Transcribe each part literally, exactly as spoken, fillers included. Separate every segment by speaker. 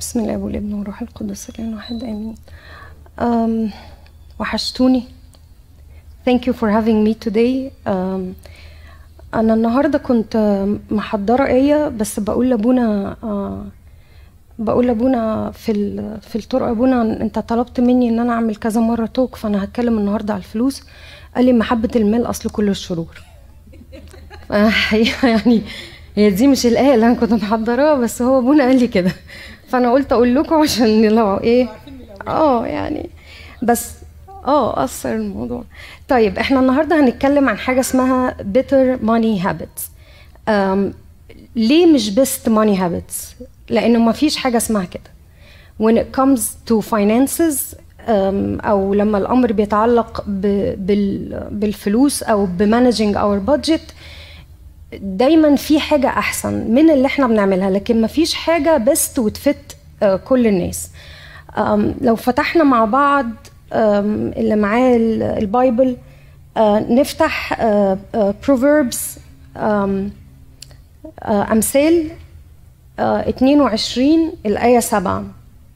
Speaker 1: بسم الله والابن والروح القدس الإله واحد آمين. um, وحشتوني. Thank you for having me today. um, أنا النهاردة كنت محضرة آية بس بقول لأبونا uh, بقول لأبونا في في الطرق، أبونا أنت طلبت مني إن أنا أعمل كذا مرة توك، فأنا هتكلم النهاردة على الفلوس. قال لي محبة المال أصل كل الشرور. يعني هي دي مش الآية اللي أنا كنت محضراها، بس هو أبونا قال لي كده، فأنا قلت أقول لكم عشان لو إيه آه يعني بس آه أثر الموضوع. طيب إحنا النهاردة هنتكلم عن حاجة اسمها better money habits. um, ليه مش best money habits؟ لأنه ما فيش حاجة اسمها كده. when it comes to finances um, أو لما الأمر بيتعلق بال, بالفلوس أو بmanaging our budget، دايما في حاجة أحسن من اللي احنا بنعملها، لكن ما فيش حاجة بست وتفت uh, كل الناس. um, لو فتحنا مع بعض um, اللي معاه البايبل uh, نفتح uh, uh, Proverbs um, uh, أمثال uh, اتنين وعشرين الآية سبعة.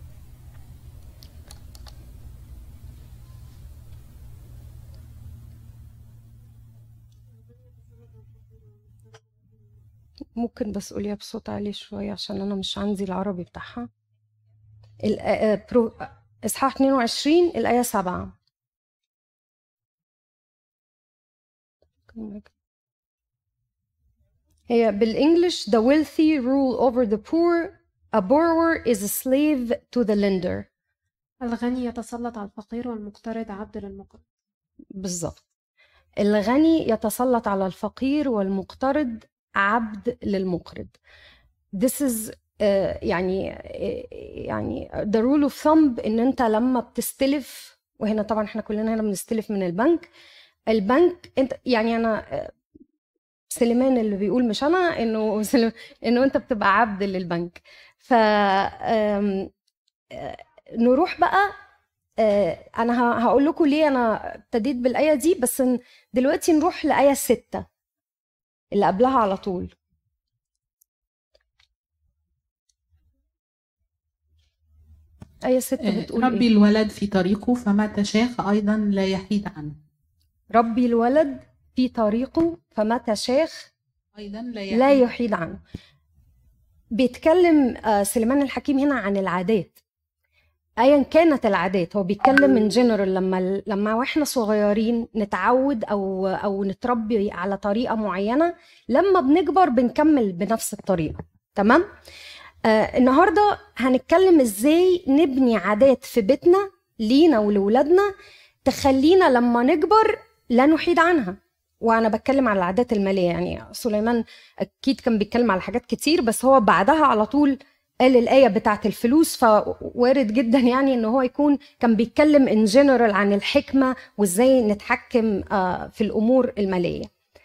Speaker 1: ممكن بس قوليها بصوت عالي شوية عشان أنا مش عندي العربي بتاعها. إصحاح اتنين وعشرين الآية سبعة. هي بالإنجليش the wealthy rule over the poor, a borrower is a slave to the lender.
Speaker 2: الغني يتسلط على الفقير والمقترض عبد للمقرض.
Speaker 1: بالظبط، الغني يتسلط على الفقير والمقترض عبد للمقرض. This is uh, يعني uh, يعني the rule of thumb إن أنت لما بتستلف، وهنا طبعا احنا كلنا هنا بنستلف من البنك. البنك انت يعني أنا سليمان اللي بيقول مش أنا إنه إنه أنت بتبقى عبد للبنك. ف نروح بقى. أنا هقول لكم ليه أنا ابتديت بالآية دي، بس دلوقتي نروح لآية ستة اللي قبلها على طول. آية ستة بتقول
Speaker 3: ربي
Speaker 1: إيه؟
Speaker 3: الولد في طريقه فمتى شاخ أيضا لا يحيد عنه.
Speaker 1: ربي الولد في طريقه فمتى شاخ
Speaker 3: أيضا لا يحيد,
Speaker 1: لا يحيد عنه. بيتكلم سليمان الحكيم هنا عن العادات، ايا كانت العادات. هو بيتكلم من جنرال لما لما واحنا صغيرين نتعود او او نتربي على طريقه معينه، لما بنكبر بنكمل بنفس الطريقه. تمام. آه النهارده هنتكلم ازاي نبني عادات في بيتنا لينا ولولادنا تخلينا لما نكبر لا نحيد عنها. وانا بتكلم على العادات الماليه، يعني سليمان اكيد كان بيتكلم على حاجات كتير، بس هو بعدها على طول قال الآية بتاعت الفلوس، فوارد جدا يعني إنه هو يكون كان بيتكلم in general عن الحكمة وإزاي نتحكم في الأمور المالية.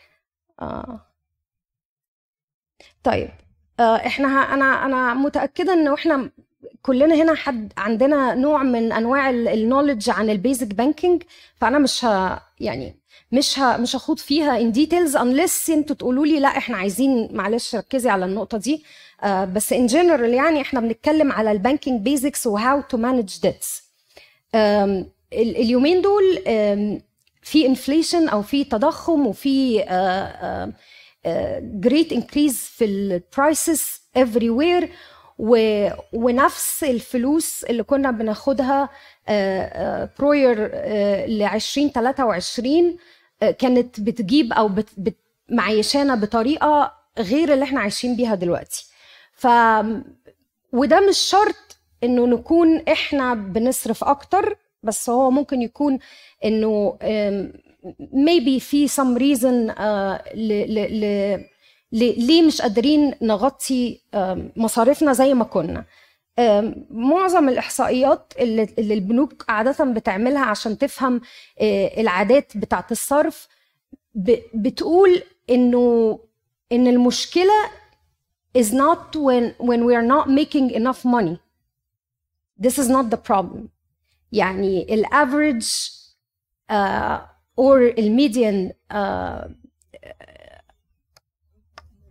Speaker 1: طيب إحنا أنا أنا متأكدة إنه إحنا كلنا هنا حد عندنا نوع من أنواع النوليدج عن البيزك بانكينج، فأنا مش ه يعني مش ه مش هخوض فيها in details unless انتوا تقولوا لي لا احنا عايزين معلش ركزي على النقطة دي. uh, بس in general يعني احنا بنتكلم على البانكينج بيزكس و how to manage debts. um, اليومين دول um, في inflation او في تضخم وفي uh, uh, uh, great increase في ال prices everywhere، و... ونفس الفلوس اللي كنا بناخدها بروير ل عشرين تلاتة وعشرين كانت بتجيب او بت... بت... معيشانا بطريقه غير اللي احنا عايشين بيها دلوقتي. ف وده مش شرط انه نكون احنا بنصرف اكتر، بس هو ممكن يكون انه maybe في some reason uh, ل... ل... ل... ليه مش قادرين نغطي مصاريفنا زي ما كنا. معظم الإحصائيات اللي البنوك عادة بتعملها عشان تفهم العادات بتاعت الصرف بتقول إنه إن المشكلة is not when when we are not making enough money. This is not the problem. يعني ال average uh, or ال median uh,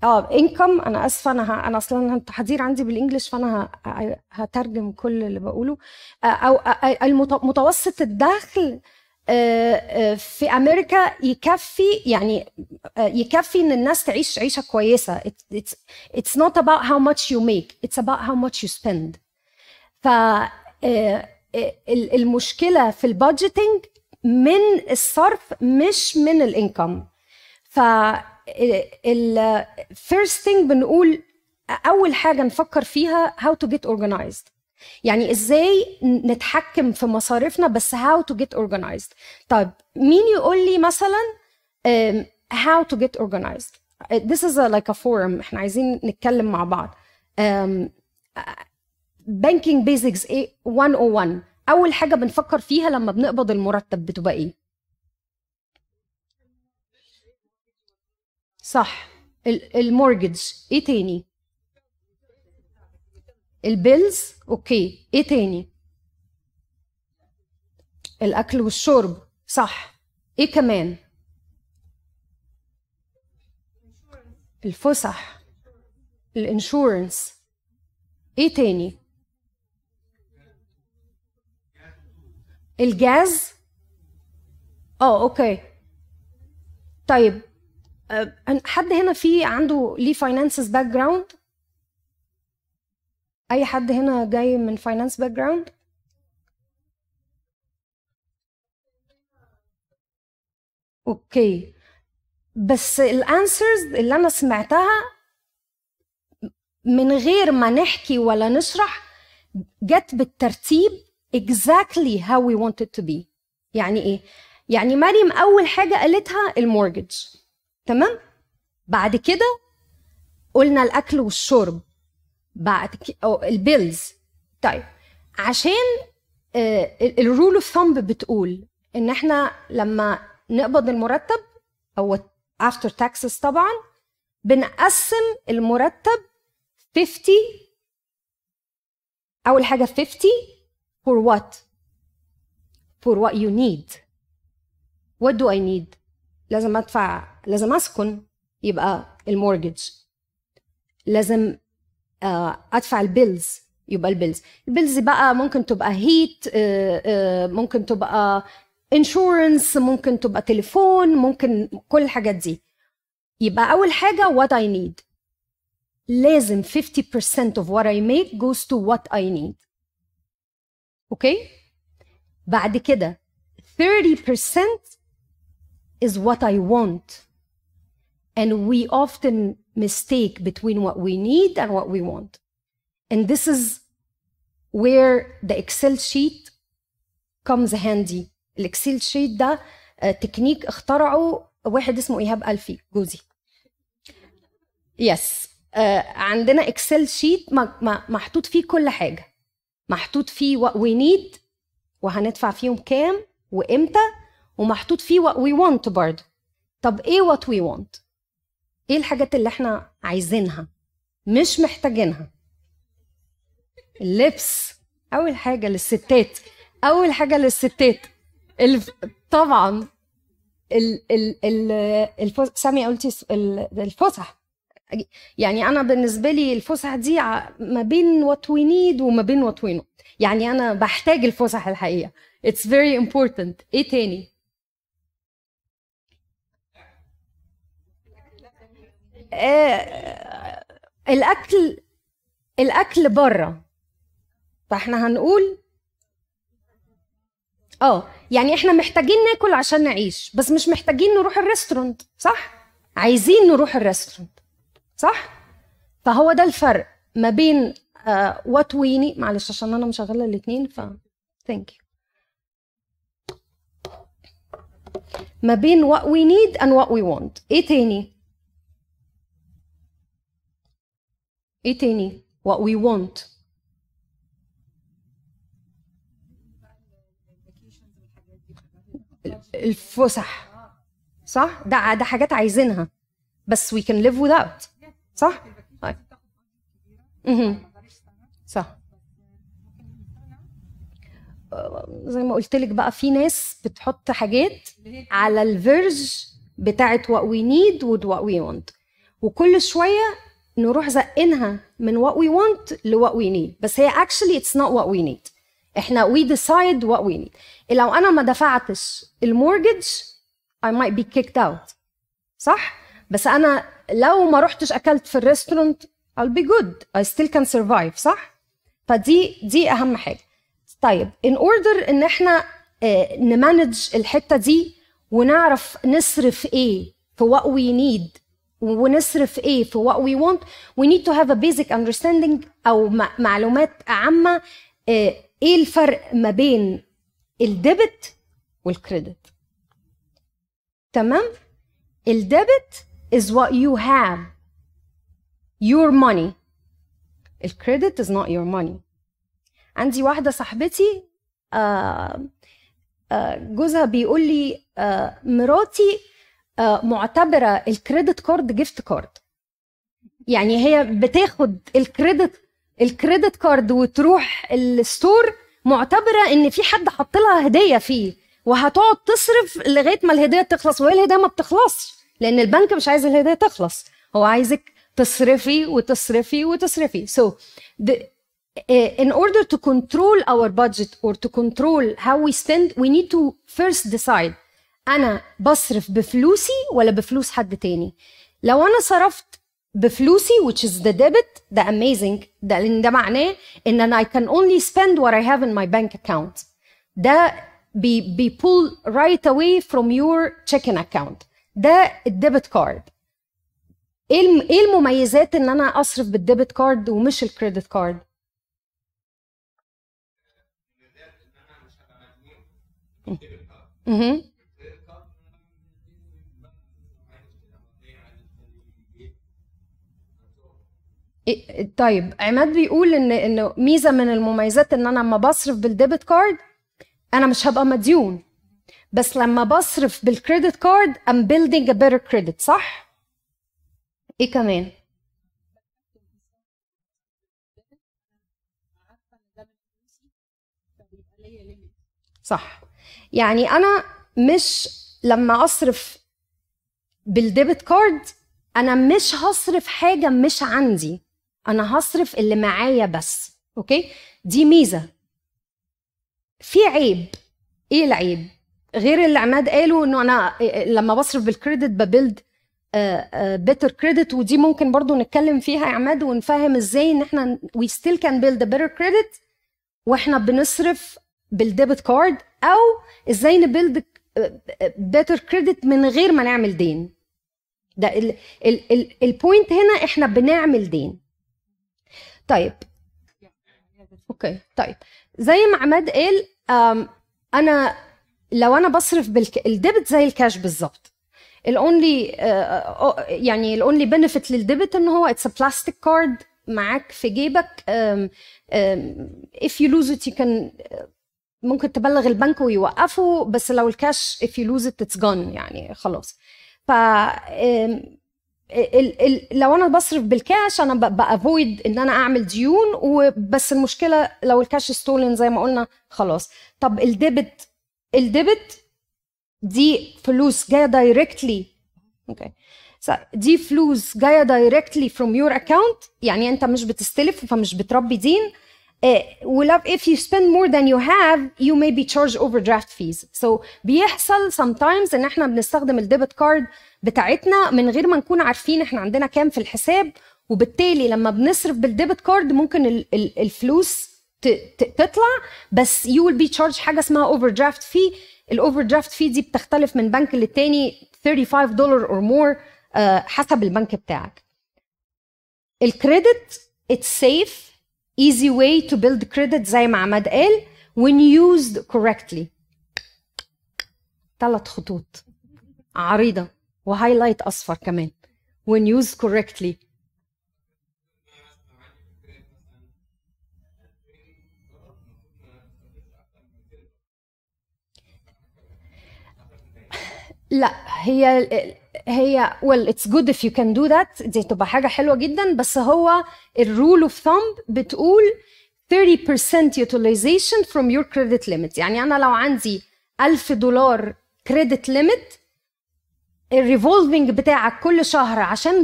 Speaker 1: اه income. انا اسفه، انا ه... انا اصلا التحضير عندي بالانجلش، فانا ه... هترجم كل اللي بقوله. آه، او آه، المت- متوسط الدخل آه، آه، في امريكا يكفي، يعني آه، يكفي ان الناس تعيش عيشه كويسه. It- it's it's not about how much you make, it's about how much you spend. ف آه، آه، ال- المشكله في البادجيتنج من الصرف مش من الانكم. ف ال first thing بنقول اول حاجه نفكر فيها how to get organized. يعني ازاي نتحكم في مصاريفنا، بس how to get organized. طيب مين يقول لي مثلا um, how to get organized. This is a, like a forum، احنا عايزين نتكلم مع بعض. um, banking basics ايه مية وواحد. اول حاجه بنفكر فيها لما بنقبض المرتب بتبقى ايه؟ صح، المورجج. ايه تاني؟ البيلز. اوكي، ايه تاني؟ الاكل والشرب. صح، ايه كمان؟ الفسح، الانشورنس. ايه تاني؟ الجاز. اه اوكي. طيب أه، حد هنا في عنده ليه فاينانسز باك جراوند؟ اي حد هنا جاي من فاينانس باك جراوند؟ اوكي، بس الانسرز اللي انا سمعتها من غير ما نحكي ولا نشرح جت بالترتيب exactly how we want it to be. يعني ايه؟ يعني مريم اول حاجه قالتها المورجج، تمام؟ بعد كده قلنا الاكل والشرب، بعد كده البيلز. طيب عشان الرول اوف ثامب بتقول ان احنا لما نقبض المرتب او after taxes طبعا بنقسم المرتب خمسين. اول حاجه خمسين for what for what you need. what do I need؟ لازم ادفع، لازم اسكن، يبقى المورجج. لازم ادفع البيلز، يبقى البيلز. البيلز بقى ممكن تبقى هيت، ممكن تبقى انشورنس، ممكن تبقى تليفون، ممكن كل الحاجات دي. يبقى اول حاجه what I need. لازم fifty percent of what I make goes to what I need. اوكي؟ بعد كده thirty percent is what I want. And we often mistake between what we need and what we want. And this is where the Excel sheet comes handy. الإكسل شيت ده تكنيك اخترعه واحد اسمه إيهاب ألفي جوزي. يس. عندنا إكسل شيت محطوط فيه كل حاجة، محطوط فيه what we need وهندفع فيهم كام وإمتى، ومحطوط فيه what we want برضه. طب إيه what we want؟ إيه الحاجات اللي إحنا عايزينها مش محتاجينها؟ اللبس أول حاجة للستات، أول حاجة للستات الف... طبعا ال ال ال الفس... سامي قلتي الفسح. يعني انا بالنسبه لي الفسح دي ما بين وات وي نيد وما بين وات وي نوت. يعني انا بحتاج الفسح الحقيقه. اتس فيري امبورتنت. ايه تاني؟ آه... الاكل، الاكل بره. فاحنا هنقول اه يعني احنا محتاجين ناكل عشان نعيش، بس مش محتاجين نروح الريستورانت، صح؟ عايزين نروح الريستورانت، صح؟ فهو ده الفرق ما بين وات وي نيد. معلش عشان انا مشغله الاثنين ف ثانك يو. ما بين what we need and what we want. ايه تاني؟ ايه تاني؟ what we want. الفسح، صح؟ ده ده حاجات عايزينها بس we can live without، صح؟ اها صح. زي ما قلت لك بقى في ناس بتحط حاجات على الفيرج بتاعت what we need و what we want. وكل شويه نروح زقينها من what we want ل what we need. بس هي actually it's not what we need. احنا we decide what we need. لو انا ما دفعتش المورجج I might be kicked out، صح؟ بس انا لو ما رحتش اكلت في الريستورانت I'll be good, I still can survive، صح؟ فدي دي اهم حاجه. طيب in order ان احنا اه نمانج الحته دي ونعرف نصرف ايه في what we need ونصرف ايه في what we want, we need to have a basic understanding او معلومات عامه اه ايه الفرق ما بين الديبت والكريدت. تمام؟ الديبت is what you have, your money. الكريدت is not your money. عندي واحدة صاحبتي آه آه جوزها بيقول لي آه مراتي آه معتبرة الكريدت كارد جيفت كارد. يعني هي بتاخد الكريدت الكريدت كارد وتروح الستور معتبرة ان في حد حط لها هدية فيه وهتقعد تصرف لغاية ما الهدية تخلص، وهي الهدية ما بتخلصش لان البنك مش عايز الهدية تخلص، هو عايزك تصرفي وتصرفي وتصرفي. So the, uh, in order to control our budget or to control how we spend, we need to first decide أنا بصرف بفلوسي ولا بفلوس حد تاني. لو أنا صرفت بفلوسي which is the debit ده amazing، ده لأن ده معناه إن أنا I can only spend what I have in my bank account. ده بي بي pull right away from your checking account. ده الديبت كارد. ايه المميزات ان انا اصرف بالديبت كارد ومش الكريدت كارد؟ اها طيب عماد بيقول ان انه ميزه من المميزات ان انا لما بصرف بالديبت كارد انا مش هبقى مديون، بس لما بصرف بالكريدت كارد I'm building a better credit، صح؟ ايه كمان؟ صح. يعني انا مش لما اصرف بالديبت كارد انا مش هصرف حاجه مش عندي، انا هصرف اللي معايا بس. اوكي، دي ميزه. في عيب. ايه العيب غير اللي عماد قاله انه انا لما بصرف بالكريدت ببيلد better credit؟ ودي ممكن برضو نتكلم فيها يا عماد ونفهم ازاي ان احنا we still can build a better credit واحنا بنصرف بالديبت كارد، او ازاي نبيلد better credit من غير ما نعمل دين. ده البوينت هنا، احنا بنعمل دين. طيب اوكي، طيب زي ما عماد قال انا لو انا بصرف بالديبت زي الكاش بالظبط، الاونلي يعني الاونلي بنفيت للديبت ان هو اتس ا بلاستيك كارد معاك في جيبك. um, um, if you lose it you can ممكن تبلغ البنك ويوقفوا، بس لو الكاش if you lose it it's gone يعني خلاص. ف um, ال ال لو انا بصرف بالكاش انا بافويد ان انا اعمل ديون، وبس المشكله لو الكاش ستولن زي ما قلنا خلاص. طب الديبت الديبت دي فلوس جايه دايركتلي، اوكي دي فلوس جايه دايركتلي from your account، يعني انت مش بتستلف فمش بتربي دين. ولو if you spend more than you have you may be charged overdraft fees. so بيحصل sometimes ان احنا بنستخدم الديبت كارد بتاعتنا من غير ما نكون عارفين احنا عندنا كام في الحساب، وبالتالي لما بنصرف بالديبت كارد ممكن الفلوس تطلع، بس you will be charged حاجه اسمها overdraft fee. الاوفردرافت في دي بتختلف من بنك للتاني خمسة وثلاثين دولار or more حسب البنك بتاعك. الكريدت it's safe easy way to build credit زي ما عماد قال when used correctly. ثلاث خطوط عريضة وهايلايت أصفر كمان when used correctly. لا هي هي well it's good if you can do that، دي تبقى حاجة حلوة جدا، بس هو الرول اوف ثامب بتقول thirty percent utilization from your credit limit. يعني أنا لو عندي ألف دولار credit limit الريفولفينج بتاعك كل شهر عشان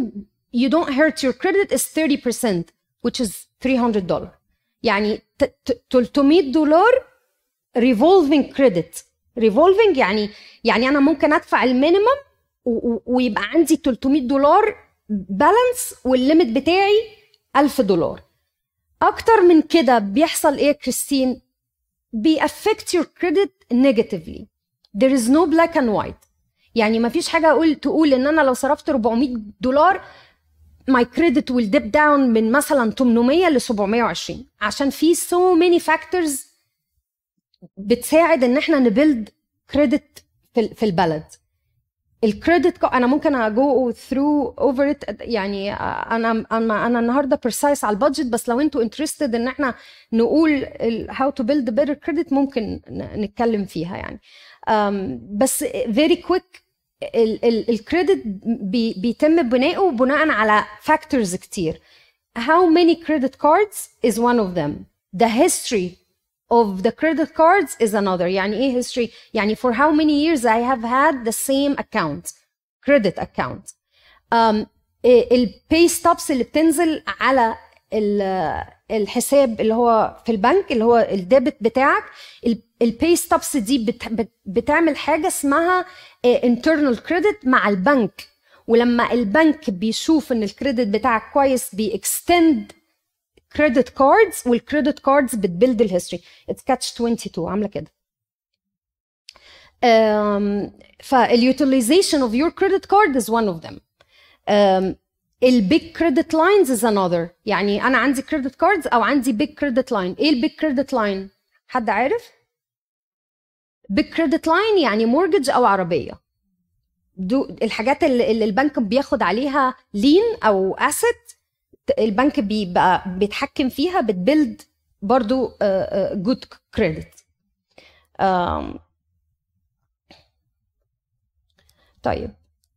Speaker 1: you don't hurt your credit is thirty percent which is three hundred dollars. يعني تلتمية دولار revolving credit. revolving يعني يعني انا ممكن ادفع المينيمم ويبقى عندي تلتمية دولار بالانس والليميت بتاعي ألف دولار. اكتر من كده بيحصل ايه كريستين؟ بي affect your credit negatively. there is no black and white. يعني ما فيش حاجه اقول تقول ان انا لو صرفت أربعمية دولار my credit will dip down من مثلا تمنمية ل سبعمية وعشرين، عشان في so many factors بتساعد ان احنا نبيلد كريدت في في البلد. الكريدت انا ممكن اجو ثرو اوفر ات، يعني انا انا انا النهارده بريسايس على البادجت، بس لو انتوا انترستد ان احنا نقول هاو تو بيلد بيتر كريدت ممكن نتكلم فيها يعني. بس فيري كويك، الكريدت بيتم بناؤه بناء على فاكتورز كتير. how many credit cards is one of them. the history of the credit cards is another. يعني ايه history؟ يعني for how many years I have had the same account, credit account. um, الباي ستوبس اللي بتنزل على الحساب اللي هو في البنك اللي هو الديبت بتاعك، الباي ستوبس دي بت بتعمل حاجه اسمها internal credit مع البنك، ولما البنك بيشوف ان الكريدت بتاعك كويس بيكستند كريدت كاردز، والكريدت كاردز بتبيلد الهيستوري. اتس كاتش اتنين وعشرين عامله كده. فاليوتيلايزيشن اوف يور كريدت كارد از one of them. البيج كريدت لاينز از another. يعني انا عندي كريدت كاردز او عندي بيج كريدت لاين. ايه البيج كريدت لاين؟ حد عارف؟ بيج كريدت لاين يعني مورجج او عربيه، دو الحاجات اللي, اللي البنك بياخد عليها لين او اسيت، البنك بيبقى بيتحكم فيها، بتبيلد برضو جود كريدت. طيب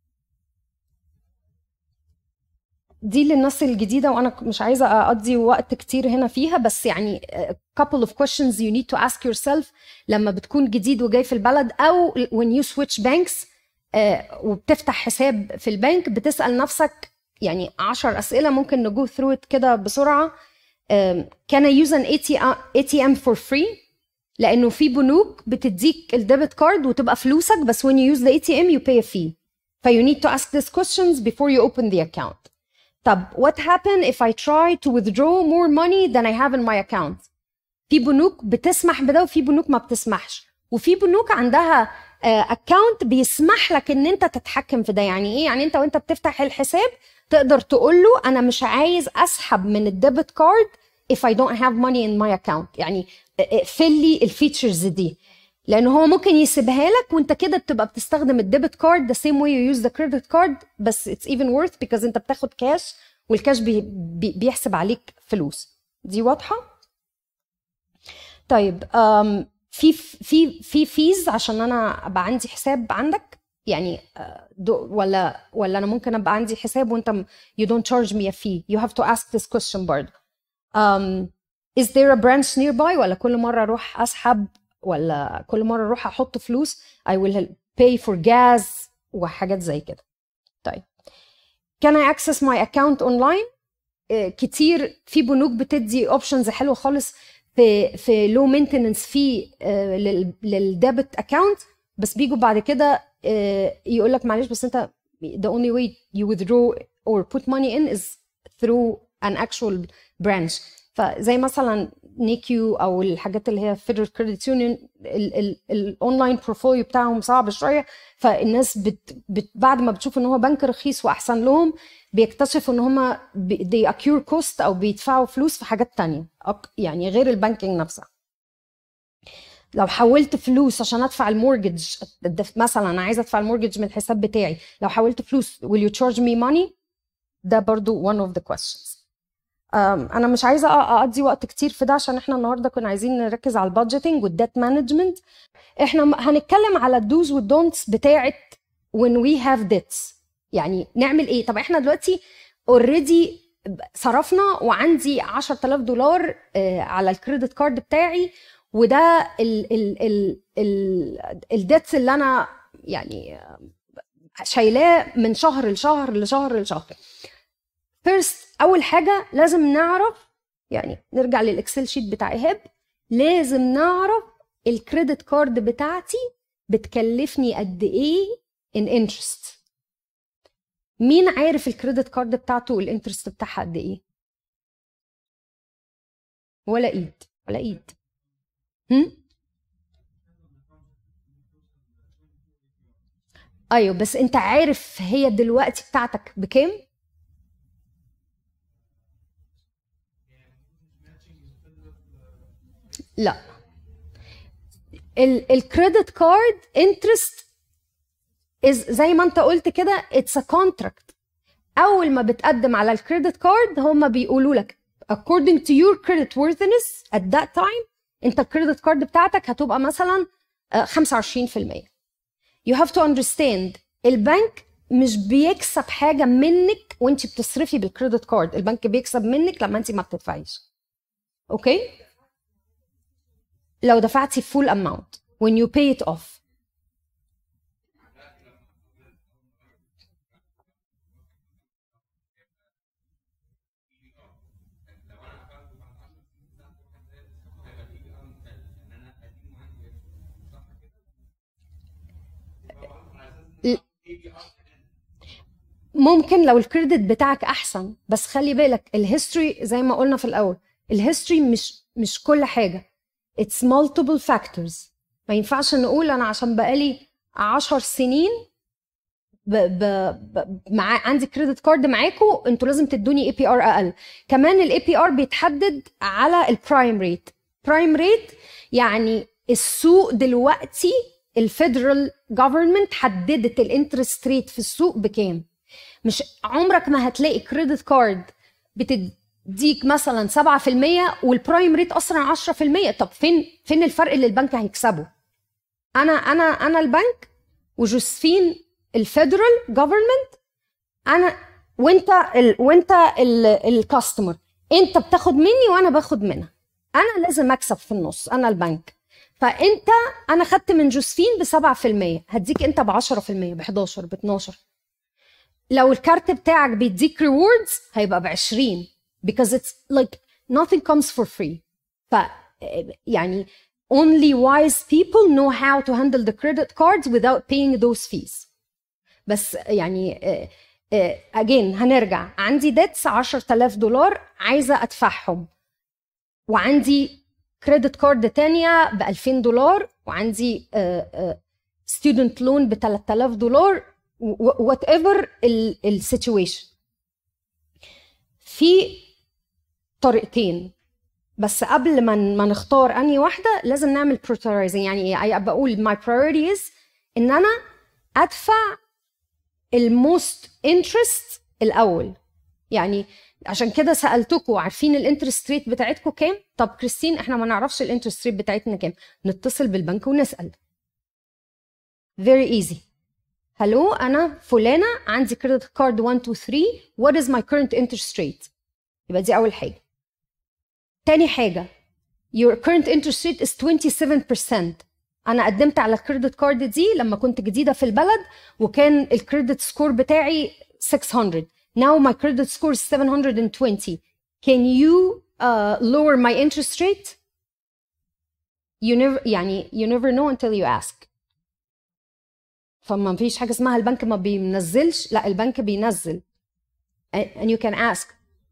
Speaker 1: دي للناس الجديدة، وأنا مش عايزة أقضي وقت كتير هنا فيها، بس يعني couple of questions you need to ask yourself لما بتكون جديد وجاي في البلد، أو when you switch banks وبتفتح حساب في البنك، بتسأل نفسك يعني عشر أسئلة ممكن نجو through it كده بسرعة. can I use an إيه تي إم for free؟ لأنه في بنوك بتديك الديبت كارد وتبقى فلوسك، بس when you use the إيه تي إم you pay a fee. ف you need to ask these questions before you open the account. طب what happen if I try to withdraw more money than I have in my account؟ في بنوك بتسمح بده وفي بنوك ما بتسمحش، وفي بنوك عندها account uh, بيسمح لك ان انت تتحكم في ده. يعني ايه؟ يعني انت وانت بتفتح الحساب تقدر تقول له انا مش عايز اسحب من الديبت كارد if I don't have money in my account. يعني اقفل لي الفيتشرز دي، لان هو ممكن يسيبها لك وانت كده بتبقى بتستخدم الديبت كارد the same way you use the credit card، بس it's even worth because انت بتاخد كاش، والكاش بي بي بيحسب عليك فلوس. دي واضحه؟ طيب um, في في في فيز عشان انا ابقى عندي حساب عندك؟ يعني ولا ولا انا ممكن ابقى عندي حساب وانت you don't charge me a fee؟ you have to ask this question برضه. um, is there a branch nearby؟ ولا كل مره اروح اسحب، ولا كل مره اروح احط فلوس I will pay for gas وحاجات زي كده. طيب can I access my account online؟ كتير في بنوك بتدي اوبشنز حلوه خالص في في لو مينتيننس في للديبت اكاونت، بس بيجوا بعد كده يقول لك معلش بس انت the only way you withdraw or put money in is through an actual branch. فزي مثلا نيكيو او الحاجات اللي هي Federal Credit Union، الاونلاين بروفايل بتاعهم صعب شويه، فالناس بت بت بعد ما بتشوف ان هو بنك رخيص واحسن لهم بيكتشفوا ان هم they accrue cost او بيدفعوا فلوس في حاجات تانية يعني غير البانكينج نفسها. لو حولت فلوس عشان ادفع المورجج مثلا، انا عايزه ادفع المورجج من الحساب بتاعي، لو حولت فلوس will you charge me money؟ ده برضو one of the questions. انا مش عايزه اقضي وقت كتير في ده عشان احنا النهارده كنا عايزين نركز على البادجيتنج والديت مانجمنت. احنا هنتكلم على الدوز والدونتس بتاعه when we have debts. يعني نعمل ايه؟ طب احنا دلوقتي اوريدي صرفنا وعندي عشرة آلاف دولار على الكريدت كارد بتاعي، وده ال ال ال ال الديتس اللي انا يعني شايلاه من شهر لشهر لشهر لشهر. فيرست اول حاجه لازم نعرف، يعني نرجع للاكسل شيت بتاع ايهاب، لازم نعرف الكريدت كارد بتاعتي بتكلفني قد ايه ان انترست. مين عارف الكريدت كارد بتاعته الانترست بتاعها قد ايه؟ ولا ايد ولا ايد. هم؟ ايوه بس انت عارف هي دلوقتي بتاعتك بكام؟ لا، الكريدت كارد انترست زي ما انت قلت كده اتس ا كونتراكت. اول ما بتقدم على الكريدت كارد هم بيقولوا لك according to your credit worthiness at that time انت الكريدت كارد بتاعتك هتبقى مثلا خمسة وعشرين في المية. you have to understand البنك مش بيكسب حاجه منك وانت بتصرفي بالكريدت كارد، البنك بيكسب منك لما انت ما بتدفعيش. اوكي؟ لو دفعتي full amount when you pay it off. ممكن لو الكريدت بتاعك احسن، بس خلي بالك الهيستوري زي ما قلنا في الاول، الهيستوري مش مش كل حاجه، it's multiple factors. ما ينفعش نقول انا عشان بقالي عشر سنين ب ب ب مع عندي كريدت كارد معاكم انتوا لازم تدوني اي بي ار اقل. كمان الاي بي ار بيتحدد على البرايم ريت. برايم ريت يعني السوق دلوقتي الفيدرال جوفرمنت حددت الانترست ريت في السوق بكام. مش عمرك ما هتلاقي كريدت كارد بتديك مثلا سبعة في المية والبرايم ريت اصلا عشرة في المية. طب فين فين الفرق اللي البنك هيكسبه؟ انا انا انا البنك وجوزفين الفيدرال جوفرمنت، انا وانت ال وانت الكاستمر، انت بتاخد مني وانا باخد منها، انا لازم اكسب في النص، انا البنك. فانت انا خدت من جوزفين ب سبعة في المية، هديك انت ب عشرة في المية، ب حداشر، ب اتناشر. لو الكارت بتاعك بيديك ريوردز هيبقى ب عشرين because it's like nothing comes for free. ف يعني only wise people know how to handle the credit cards without paying those fees. بس يعني uh, uh, again هنرجع، عندي ديتس عشرة آلاف دولار عايزه ادفعهم، وعندي كريدت كارد تانية ب ألفين دولار، وعندي ستودنت لون ب ثلاثة آلاف دولار، وات ايفر السيتويشن. في طريقتين، بس قبل ما ما نختار انهي واحده لازم نعمل prioritizing. يعني ايه؟ بقول my priority is ان انا ادفع الموست انترست الاول. يعني عشان كده سالتكم عارفين الانترست ريت بتاعتكم كام؟ طب كريستين احنا ما نعرفش الانترست ريت بتاعتنا كام، نتصل بالبنك ونسال. very easy. هلو انا فلانه عندي كريدت كارد واحد اتنين تلاتة، what is my current interest rate؟ يبقى دي اول حاجه. تاني حاجه your current interest rate is twenty-seven percent. انا قدمت على الكريدت كارد دي لما كنت جديده في البلد وكان الكريدت سكور بتاعي six hundred. now my credit score is seven hundred twenty. can you uh, lower my interest rate? you never يعني you never know until you ask. فما فيش حاجه اسمها البنك ما بينزلش، لا البنك بينزل and you can ask.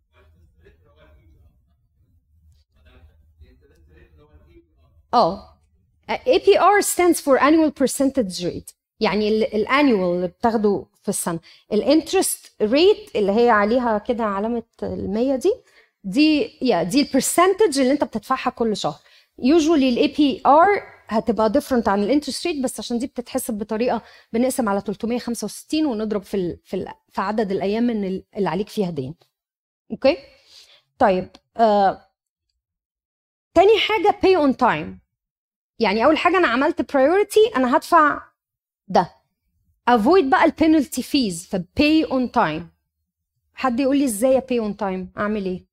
Speaker 1: اه A P R stands for annual percentage rate، يعني الانيوال اللي بتاخده في السنه. الانترست ريت اللي هي عليها كده علامه المية دي دي يا دي البرسنتج اللي انت بتدفعها كل شهر. usually ال A P R هتبقى different عن الانترست ريت، بس عشان دي بتتحسب بطريقه بنقسم على ثلاثمية وخمسة وستين ونضرب في ال في, ال في عدد الايام من اللي عليك فيها دين. اوكي طيب آه. تاني حاجه pay on time. يعني اول حاجه انا عملت priority، انا هدفع ده. avoid بقى البينالتي فيز، ف pay on time. حد يقول لي ازاي pay on time؟ اعمل ايه؟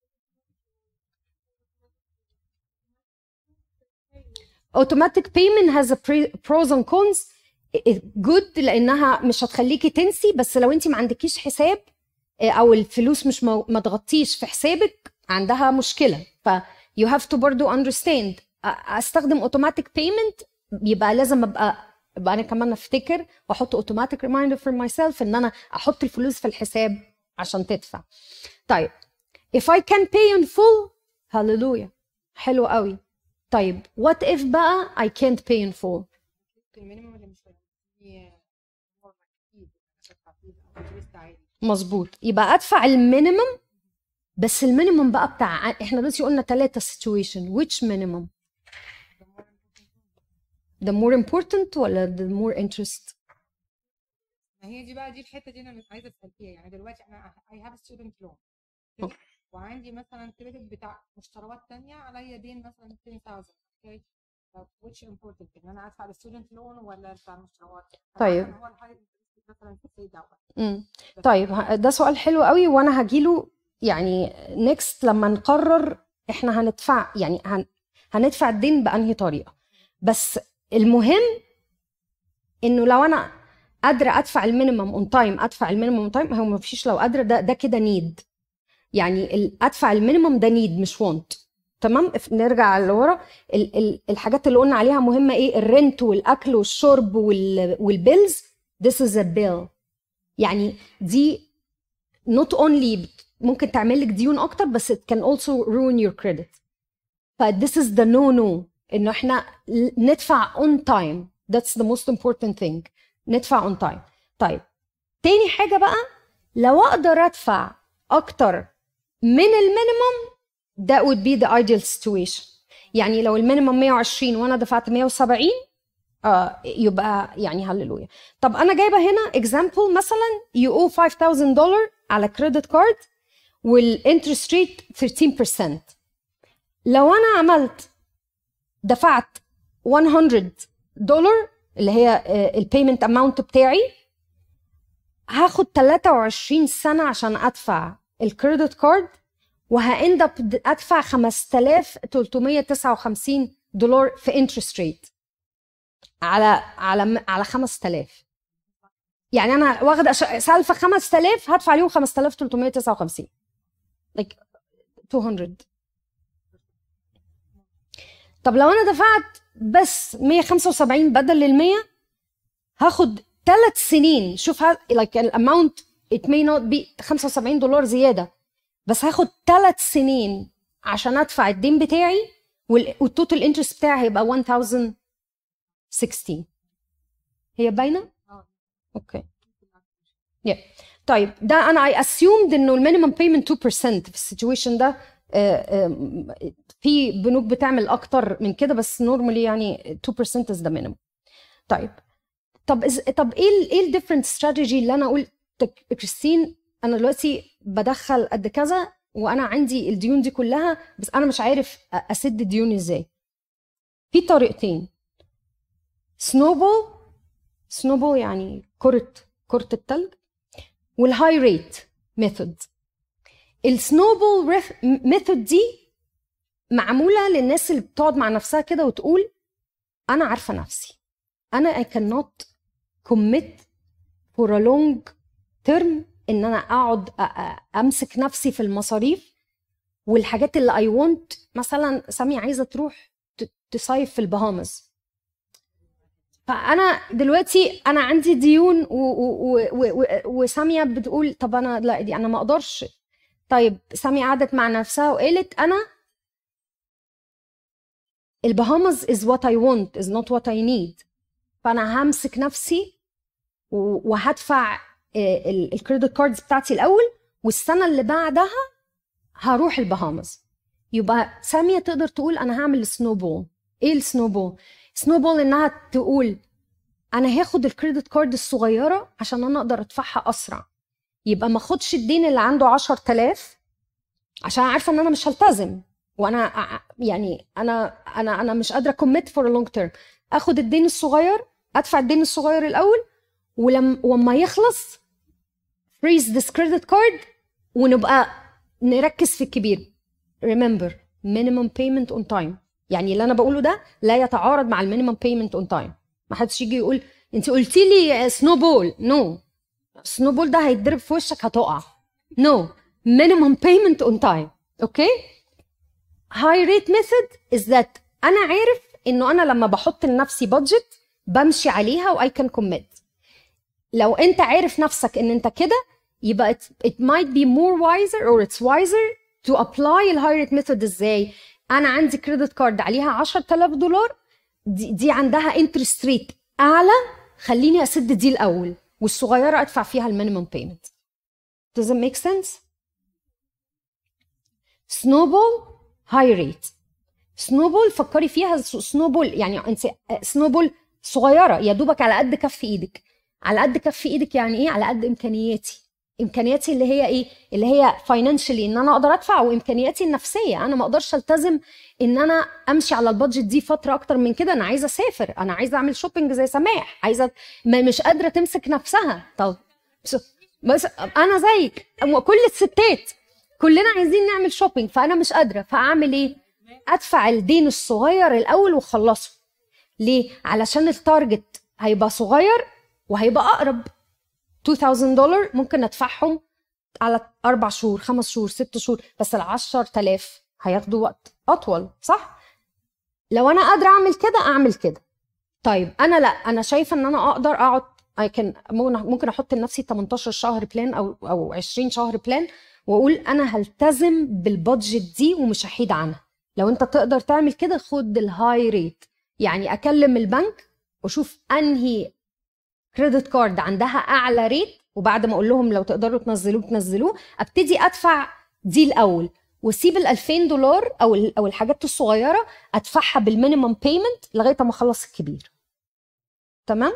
Speaker 1: automatic payment has a pros and cons. good لانها مش هتخليكي تنسي، بس لو انت ما عندكيش حساب او الفلوس مش مو... ما تغطيش في حسابك، عندها مشكله. ف you have to برضو understand استخدم اوتوماتيك بيمنت، يبقى لازم ابقى يبقى انا كمان افتكر واحط اوتوماتيك ريمايندر فور ماي سيلف ان انا احط الفلوس في الحساب عشان تدفع. طيب if I can pay in full، هاللويا، حلو قوي. طيب what if بقى I can't pay in full؟ مظبوط، يبقى ادفع المينيمم، بس المينيمم بقى بتاع احنا دلوقتي قلنا ثلاثة situation، which minimum؟ the more important ولا the more interest؟
Speaker 4: ما هي دي بقى دي الحته دي انا مش عايزه اسال فيها. يعني دلوقتي انا I have a student loan وعندي مثلا كريدت بتاع مشتريات تانية عليا دين مثلا عشرة آلاف، اوكي، which important ان انا ادفع الستودنت لون ولا بتاع المشتريات؟
Speaker 1: طيب
Speaker 4: هو الهاي مثلا في السيد دوت.
Speaker 1: امم طيب ده سؤال حلو قوي، وانا هجيله يعني نيكست لما نقرر احنا هندفع، يعني هن... هندفع الدين بانهي طريقه. بس المهم انه لو انا قادره ادفع المينيمم اون تايم ادفع المينيمم اون تايم، هو ما فيش لو قادره، ده ده كده نيد، يعني ادفع المينيمم ده نيد مش وونت. تمام، نرجع لورا. ال... ال... الحاجات اللي قلنا عليها مهمه ايه؟ الرنت والاكل والشرب وال... والبيلز، this is a bill. يعني دي not only ممكن تعمل لك ديون اكتر، بس it can also ruin your credit. ف this is the no no، انه احنا ندفع on time، that's the most important thing، ندفع on time. طيب تاني حاجة بقى، لو اقدر ادفع اكتر من المينيمم that would be the ideal situation. يعني لو المينيمم مية وعشرين وانا دفعت مية وسبعين، آه يبقى يعني هللويا. طب انا جايبه هنا example، مثلا you owe five thousand dollars على credit card والinterest rate thirteen percent. لو انا عملت دفعت مية دولار اللي هي البيمنت اماونت بتاعي، هاخد تلاتة وعشرين سنه عشان ادفع الكريدت كارد، وهاند اب ادفع خمسة آلاف وتلتمية وتسعة وخمسين دولار في انترست ريت على على على خمسة آلاف. يعني انا واخده سالفه خمسة آلاف هدفع عليهم خمسة آلاف وتلتمية وتسعة وخمسين، like ميتين. طب لو انا دفعت بس مية وخمسة وسبعين بدل ال مية، هاخد ثلاث سنين. شوف like الاماونت it may not be خمسة وسبعين دولار زياده، بس هاخد ثلاث سنين عشان ادفع الدين بتاعي، والتوتال انترست بتاعي هيبقى ألف وستاشر. هي باينه؟ اوكي. yeah. طيب ده انا I assumed انه المينيمم بيمنت two percent في السيتويشن ده. في بنوك بتعمل اكتر من كده، بس نورمالي يعني two percent is the minimum. طيب طب إز... طب ايه ايه الديفرنت استراتيجي اللي انا قلت كريستين انا دلوقتي بدخل قد كذا وانا عندي الديون دي كلها، بس انا مش عارف اسد الديون ازاي؟ في طريقتين، سنوبول سنوبول يعني كرة كرة التلج، والهاي ريت ميثود. السنوبول ميثود دي معمولة للناس اللي بتقعد مع نفسها كده وتقول أنا عارفة نفسي، أنا I cannot commit for a long term إن أنا أقعد أمسك نفسي في المصاريف والحاجات اللي I want. مثلا سامية عايزة تروح تصيف في البهامز، فانا دلوقتي انا عندي ديون وساميه بتقول طب انا لا دي انا ما اقدرش. طيب ساميه قعدت مع نفسها وقالت انا البهامز is what I want is not what I need، فانا همسك نفسي وهدفع الكريدت كاردز بتاعتي الاول، والسنه اللي بعدها هروح البهامز. يبقى ساميه تقدر تقول انا هعمل سنوبول. ايه السنوبول؟ سنوبول انها تقول انا هاخد الكريدت كارد الصغيره عشان انا اقدر ادفعها اسرع، يبقى ما اخدش الدين اللي عنده عشرة آلاف عشان عارفه ان انا مش هلتزم، وانا يعني انا انا انا مش قادره كوميت فور لونج تيرم. اخد الدين الصغير، ادفع الدين الصغير الاول، ولما وما يخلص فريز ذس كريدت كارد ونبقى نركز في الكبير. remember minimum payment on time، يعني اللي انا بقوله ده لا يتعارض مع المينيمم بيمنت اون تايم. ما حدش يجي يقول انت قلتي لي سنوبول، نو no. سنوبول ده هيتضرب في وشك هتقع. no minimum payment on time. اوكي. high rate method is that انا عارف انه انا لما بحط لنفسي budget بمشي عليها و I can commit. لو انت عارف نفسك ان انت كده يبقى it, it might be more wiser or it's wiser to apply ال high rate method. ازاي؟ انا عندي كريدت كارد عليها عشرة آلاف دولار، دي, دي عندها interest rate اعلى، خليني اسد دي الاول والصغيره ادفع فيها المينيمم بيمنت. Does it make sense؟ snowball high rate. snowball فكري فيها snowball يعني انت snowball صغيره يا دوبك على قد كف ايدك. على قد كف ايدك يعني ايه؟ على قد امكانياتي. امكانياتي اللي هي ايه؟ اللي هي فاينانشالي ان انا اقدر ادفع، وامكانياتي النفسيه انا ما اقدرش التزم ان انا امشي على البادجت دي فتره اكتر من كده. انا عايزه اسافر، انا عايزه اعمل شوبينج زي سماح، عايزه ما مش قادره تمسك نفسها. طب بس انا زيك كل الستات كلنا عايزين نعمل شوبينج، فانا مش قادره، فاعمل ايه؟ ادفع الدين الصغير الاول واخلصه. ليه؟ علشان التارجت هيبقى صغير وهيبقى اقرب. ألفين دولار ممكن ادفعهم على اربع شهور، خمس شهور، ست شهور، بس ال عشرة آلاف هياخدوا وقت اطول، صح؟ لو انا قادره اعمل كده اعمل كده. طيب انا لا، انا شايفه ان انا اقدر اقعد كان ممكن احط لنفسي تمنتاشر شهر بلان او او عشرين شهر بلان، واقول انا هلتزم بالبادجت دي ومش هحيد عنها. لو انت تقدر تعمل كده خد الهاي ريت، يعني اكلم البنك واشوف انهي كريدت كارد عندها اعلى ريت، وبعد ما اقول لهم لو تقدروا تنزلوه تنزلوه، ابتدي ادفع دي الاول واسيب ال ألفين دولار او او الحاجات الصغيره ادفعها بالمينيمم بيمنت لغايه ما اخلص الكبير. تمام؟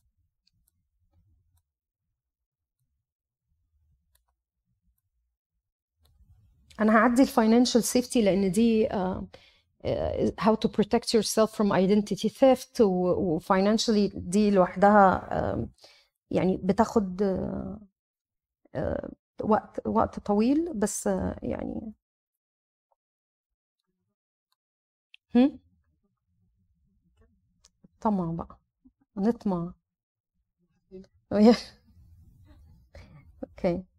Speaker 1: انا هعدي الفاينانشال سيفتي لان دي uh, uh, how to protect yourself from identity theft و financially دي لوحدها uh, يعني بتاخد uh, uh, وقت وقت طويل، بس uh, يعني هم طمع بقى نطمع. اوكي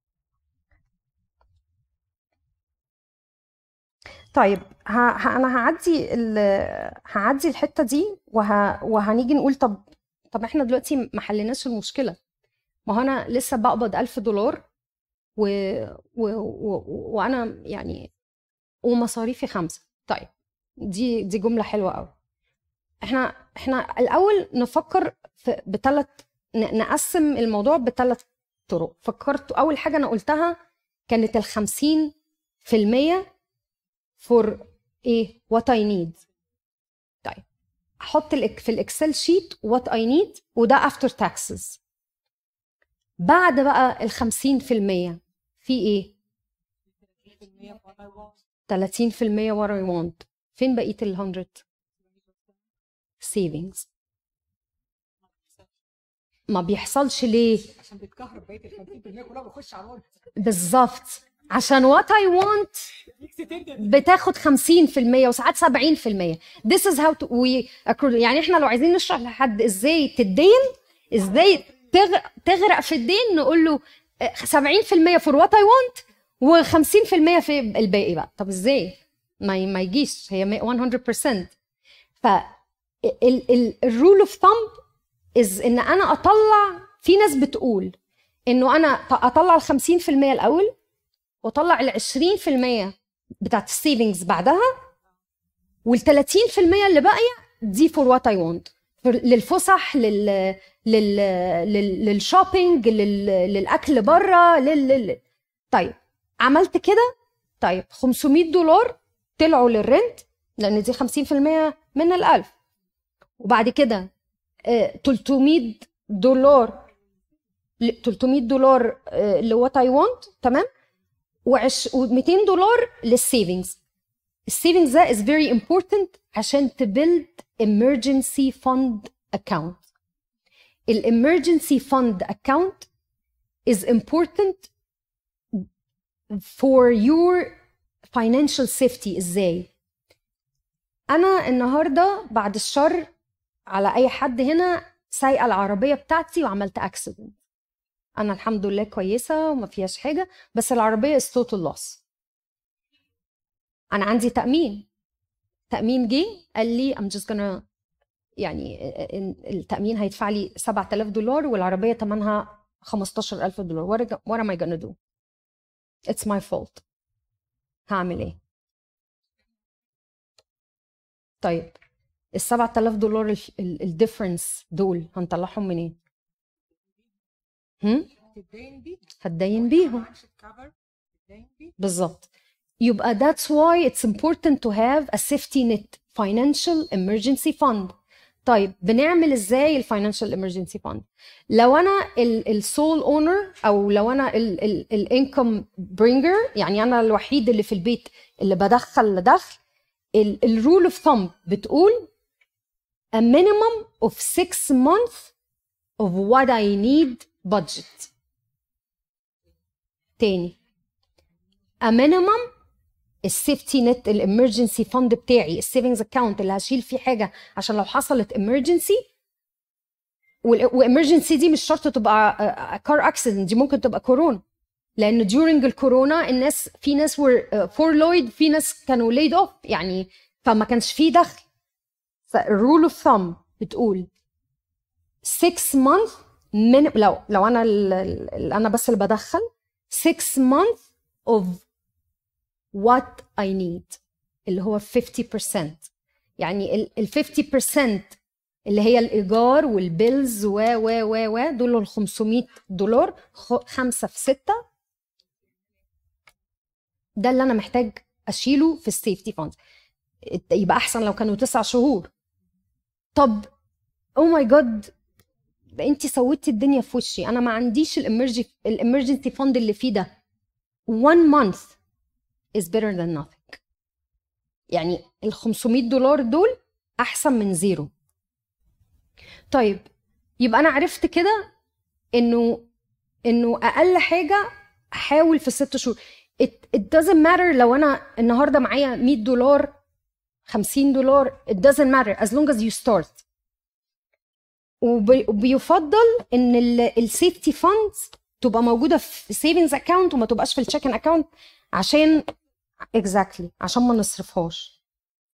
Speaker 1: طيب ه... ه... انا هعدي ال... هعدي الحته دي وه... وهنيجي نقول طب طب احنا دلوقتي ما حليناش المشكله. ما هو انا لسه بقبض ألف دولار و... و... و... وانا يعني ومصاريفي خمسه. طيب دي دي جمله حلوه قوي. احنا احنا الاول نفكر في بثلاث ن... نقسم الموضوع بثلاث طرق. فكرت اول حاجه انا قلتها كانت ال خمسين في المية for ايه what I need. طيب احط في الاكسل شيت what I need وده after taxes. بعد بقى ال خمسين في المية في ايه؟ ثلاثين في المية what I want. فين بقية ال مية؟ savings. ما بيحصلش ليه؟
Speaker 4: عشان بيتكهرب بقيه ال خمسين في المية كلها بيخش على الورد.
Speaker 1: بالظبط، عشان what I want بتاخد خمسين في المية وساعات سبعين في المية. This is how to we accrue. يعني احنا لو عايزين نشرح لحد ازاي تدين، ازاي تغرق في الدين، نقول له سبعين في المية for what I want و50 في المية في الباقي بقى. طب ازاي؟ ما ما يجيش، هي مية بالمية. ف الرول اوف ثامب از ان انا اطلع، في ناس بتقول انه انا اطلع ال خمسين في المية الاول واطلع ال عشرين في المية بتاعت السيفنجز بعدها، وال ثلاثين في المية اللي باقيه دي فور وات اي وونت، للفسح، لل لل لل للشوبينج، لل... للاكل بره، لل... لل طيب عملت كده. طيب خمسمية دولار طلعوا للرنت لان دي خمسين في المية من الألف، وبعد كده تلتمية دولار تلتمية دولار لوات اي وونت. تمام؟ و200 دولار للسيفنجز. السيفنجز ده is very important عشان تبيلد emergency fund account. ال emergency fund account is important for your financial safety. ازاي؟ انا النهارده بعد الشر على اي حد هنا سايقه العربيه بتاعتي وعملت اكسيدنت، انا الحمد لله كويسه وما فيهاش حاجه، بس العربيه is total loss. انا عندي تامين، تامين جه قال لي I'm just gonna يعني التامين هيدفع لي سبعة آلاف دولار والعربيه ثمنها خمستاشر ألف دولار. what am I gonna do? it's my fault. هعمل ايه؟ طيب ال سبعة آلاف دولار الديفرنس دول هنطلعهم منين؟ هم؟ هتدين بيهم بالظبط. يبقى that's why it's important to have a safety net financial emergency fund. طيب بنعمل ازاي الفاينانشال emergency fund؟ لو انا السول اونر او لو انا الانكم برينجر، يعني انا الوحيد اللي في البيت اللي بدخل دخل، الرول اوف ثumb بتقول a minimum of six months of what I need budget. تاني a minimum السيفتي نت الامرجنسي فند بتاعي، السيفنجز اكاونت اللي هشيل فيه حاجه عشان لو حصلت امرجنسي. وامرجنسي دي مش شرط تبقى كار اكسيدنت، دي ممكن تبقى كورونا، لان during الكورونا الناس في ناس were furloughed، في ناس كانوا laid off يعني، فما كانش فيه دخل. فالرول اوف ثumb بتقول six months من لو لو انا ال انا بس اللي بدخل six months of what I need اللي هو fifty percent. يعني ال fifty percent اللي هي الإيجار والبيلز و و و و دول ال خمسمية دولار، خمسة في ستة، ده اللي أنا محتاج أشيله في السيفتي فاند. يبقى أحسن لو كانوا تسع شهور. طب أو ماي جاد أنتي سويتي الدنيا في وشي، أنا ما عنديش الإمرجنسي فاند اللي فيه ده. one month is better than nothing. يعني ال خمسمية دولار دول أحسن من زيرو. طيب يبقى أنا عرفت كده إنه إنه أقل حاجة أحاول في ست شهور. it, it doesn't matter لو أنا النهاردة معايا مية دولار خمسين دولار، it doesn't matter as long as you start. وبيفضل إن السيفتي فاندز تبقى موجودة في savings account وما تبقاش في الchecking account، عشان exactly عشان ما نصرفهاش،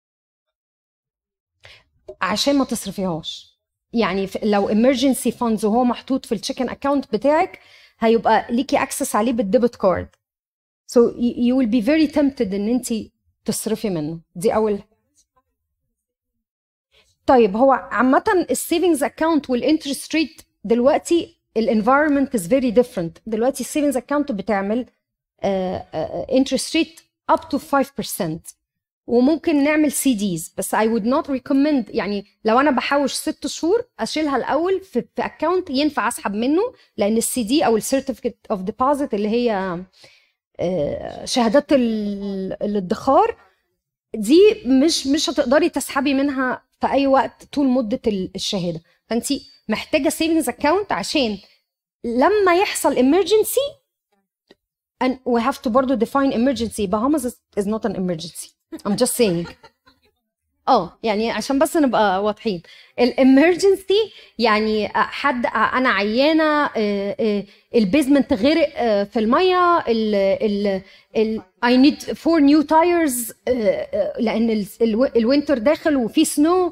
Speaker 1: عشان ما تصرفيهاش. يعني لو emergency funds وهو محطوط في الchecking account بتاعك هيبقى ليكي access عليه بالديبت كارد، so you will be very tempted ان انتي تصرفي منه. دي اول. طيب هو عامة السيفنجز account والinterest rate دلوقتي الانفايرمنت is very different. دلوقتي السيفنجز account بتعمل uh, uh, interest rate up to five percent، وممكن نعمل سي ديز، بس I would not recommend. يعني لو انا بحوش ست شهور اشيلها الاول في, في account ينفع اسحب منه، لان السي دي او السيرتيفيكت اوف ديبوزيت اللي هي uh, شهادات الادخار دي مش مش هتقدري تسحبي منها في اي وقت طول مده الشهاده. فانت محتاجه سيفنجز اكاونت عشان لما يحصل emergency. and we have to برضو define emergency. Bahamas is, is not an emergency. I'm just saying. اه يعني عشان بس نبقى واضحين. الامرجنسي يعني حد انا عيانه، البيزمنت غرق في الميه، ال ال I need four new tires لان الوينتر داخل وفي سنو،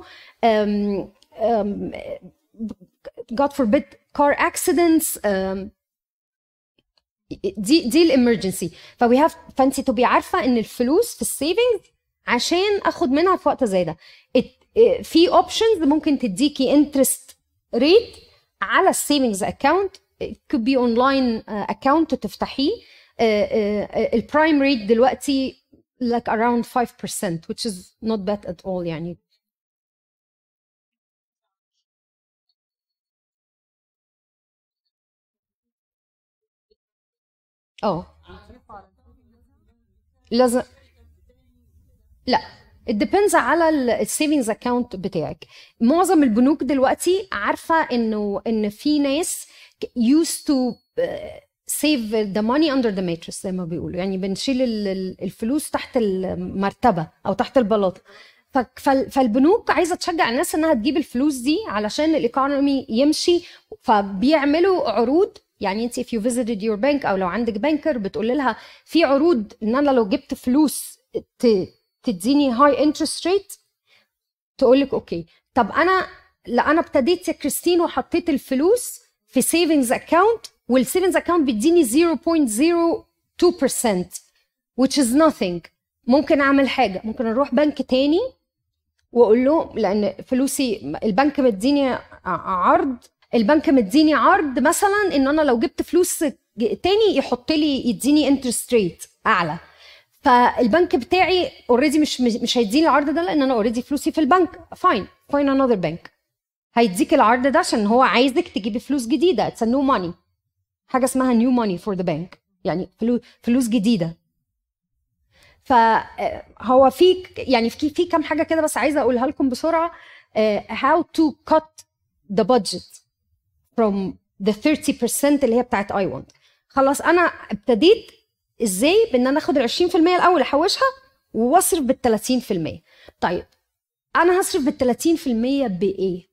Speaker 1: God forbid car accidents. دي دي الامرجنسي. فوي هاف فانتي تبقي عارفه ان الفلوس في السيفنج عشان اخد منها في وقت زي ده. في اوبشنز ممكن تديكي انترست ريت على السيفنجز اكاونت. it could be online account تفتحيه. البرايم ريت دلوقتي like around five percent which is not bad at all يعني. اه لازم لا it depends على السيفنجز اكاونت بتاعك. معظم البنوك دلوقتي عارفه انه ان في ناس used to save the money under the mattress زي ما بيقولوا، يعني بنشيل الفلوس تحت المرتبه او تحت البلاطه. فالبنوك عايزه تشجع الناس انها تجيب الفلوس دي علشان الايكونومي يمشي، فبيعملوا عروض يعني انت if you visited your bank او لو عندك بانكر بتقول لها في عروض ان انا لو جبت فلوس تديني هاي انترست ريت، تقول لك اوكي. طب انا لا انا ابتديت يا كريستين وحطيت الفلوس في سيفنجز اكاونت والسيفنجز اكاونت بيديني زيرو بوينت زيرو تو بالمية which is nothing. ممكن اعمل حاجه، ممكن اروح بنك تاني واقول له لان فلوسي البنك مديني عرض البنك مديني عرض مثلا ان انا لو جبت فلوس تاني يحط لي يديني انترست ريت اعلى، فالبنك بتاعي اوريدي مش مش هيديني العرض ده لان انا اوريدي فلوسي في البنك. فاين فاين انذر بنك هيديك العرض ده عشان هو عايزك تجيبي فلوس جديده. اتس نيو ماني، حاجه اسمها نيو ماني فور ذا بانك، يعني فلوس فلوس جديده. فهو في يعني في في كام حاجه كده بس عايزه اقولها لكم بسرعه. uh, how to cut the budget from the thirty percent اللي هي بتاعت I want. خلاص انا ابتديت ازاي بان انا اخد ال عشرين في المية الاول احوشها واصرف بال ثلاثين في المية. طيب انا هصرف بال ثلاثين في المية بايه؟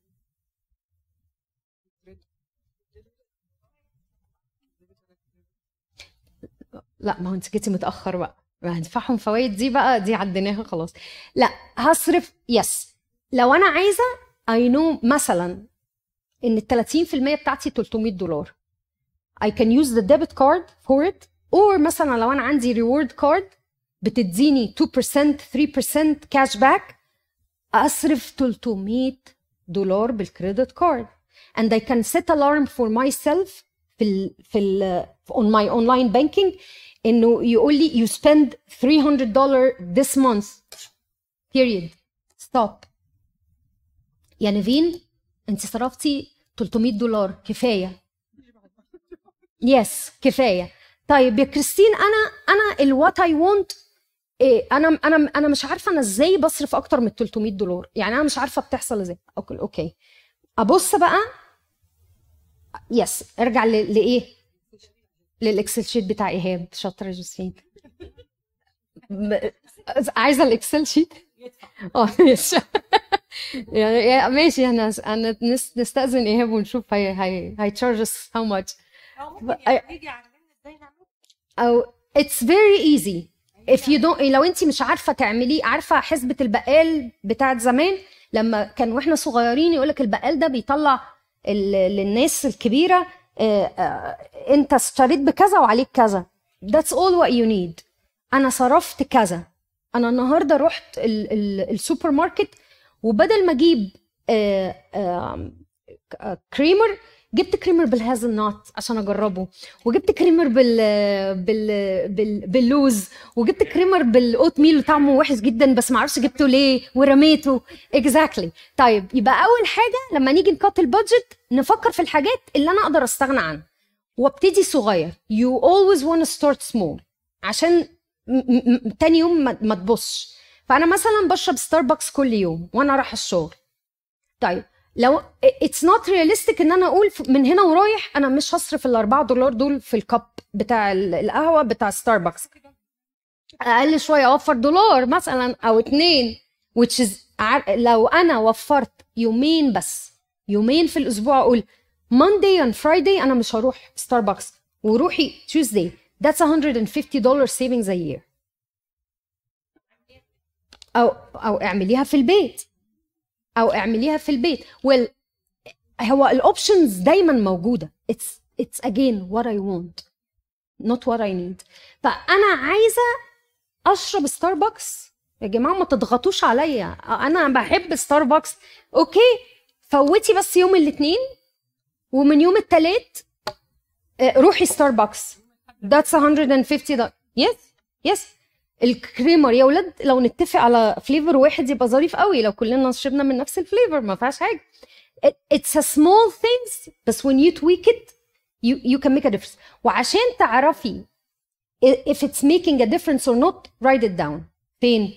Speaker 1: لا ما هو انت جيتي متاخر بقى، هندفعهم فوائد دي بقى دي عديناها خلاص. لا هصرف يس لو انا عايزه اي نو مثلا ان ال ثلاثين في المية بتاعتي ثلاثمية دولار I can use the debit card for it. or مثلا لو انا عندي reward card بتديني two percent three percent cash back اصرف ثلاثمية دولار بالكريدت كارد. and I can set alarm for myself في ال في ال on my online banking انه يقول لي you spend three hundred dollars this month period stop. يا نيفين انت صرفتي ثلاثمية دولار كفايه. يس yes, كفايه. طيب يا كريستين انا انا الوات اي وونت إيه انا انا انا مش عارفه انا ازاي بصرف اكتر من ثلاثمية دولار، يعني انا مش عارفه بتحصل ازاي. اوكي اوكي ابص بقى يس ارجع لايه للاكسل شيت بتاع ايهاب. شاطره يا جوزفين، عايزه الاكسل شيت اه ماشي يعني ماشي. انا انا نستاذن ايهاب ونشوف هي هي هي تشارجز هاو ماتش او اتس فيري ايزي if you don't. لو انت مش عارفه تعمليه، عارفه حسبه البقال بتاعت زمان لما كان واحنا صغيرين يقولك البقال ده بيطلع للناس الكبيره اه اه انت اشتريت بكذا وعليك كذا. that's all what you need. انا صرفت كذا. انا النهارده رحت ال ال السوبر ماركت وبدل ما اجيب اه اه كريمر جبت كريمر بالهازل نوت عشان اجربه، وجبت كريمر بال بال, بال... باللوز، وجبت كريمر بالاوت ميل طعمه وحش جدا بس ما اعرفش جبته ليه ورميته. اكزاكتلي exactly. طيب يبقى اول حاجه لما نيجي نكت البادجت نفكر في الحاجات اللي انا اقدر استغنى عنها وابتدي صغير. you always want to start small عشان م- م- تاني يوم ما, ما تبصش. فانا مثلا بشرب ستاربكس كل يوم وانا رايح الشغل. طيب لو it's not realistic ان انا اقول من هنا ورايح انا مش هصرف الاربعة دولار دول في الكب بتاع القهوه بتاع ستاربكس، اقل شويه اوفر دولار مثلا او اتنين which is لو انا وفرت يومين بس يومين في الاسبوع اقول Monday and Friday انا مش هروح ستاربكس وروحي Tuesday that's one hundred fifty dollars savings a year. او او اعمليها في البيت او اعمليها في البيت. well هو الاوبشنز دايما موجوده. it's it's again what I want not what I need. فانا عايزه اشرب ستاربكس يا جماعه ما تضغطوش عليا، انا بحب ستاربكس اوكي. فوتي بس يوم الاثنين ومن يوم الثلاث روحي ستاربكس that's one hundred fifty dollars. yes yes الكريمر يا ولاد لو نتفق على فليفر واحد يبقى ظريف قوي لو كلنا شربنا من نفس الفليفر ما فيهاش حاجه. it's a small things بس when you tweak it you you can make a difference. وعشان تعرفي if it's making a difference or not write it down. فين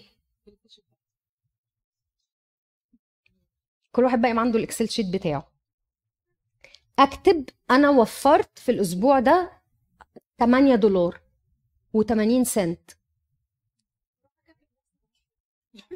Speaker 1: كل واحد بقى عنده الاكسل شيت بتاعه. اكتب انا وفرت في الاسبوع ده ثمانية دولار وثمانين سنت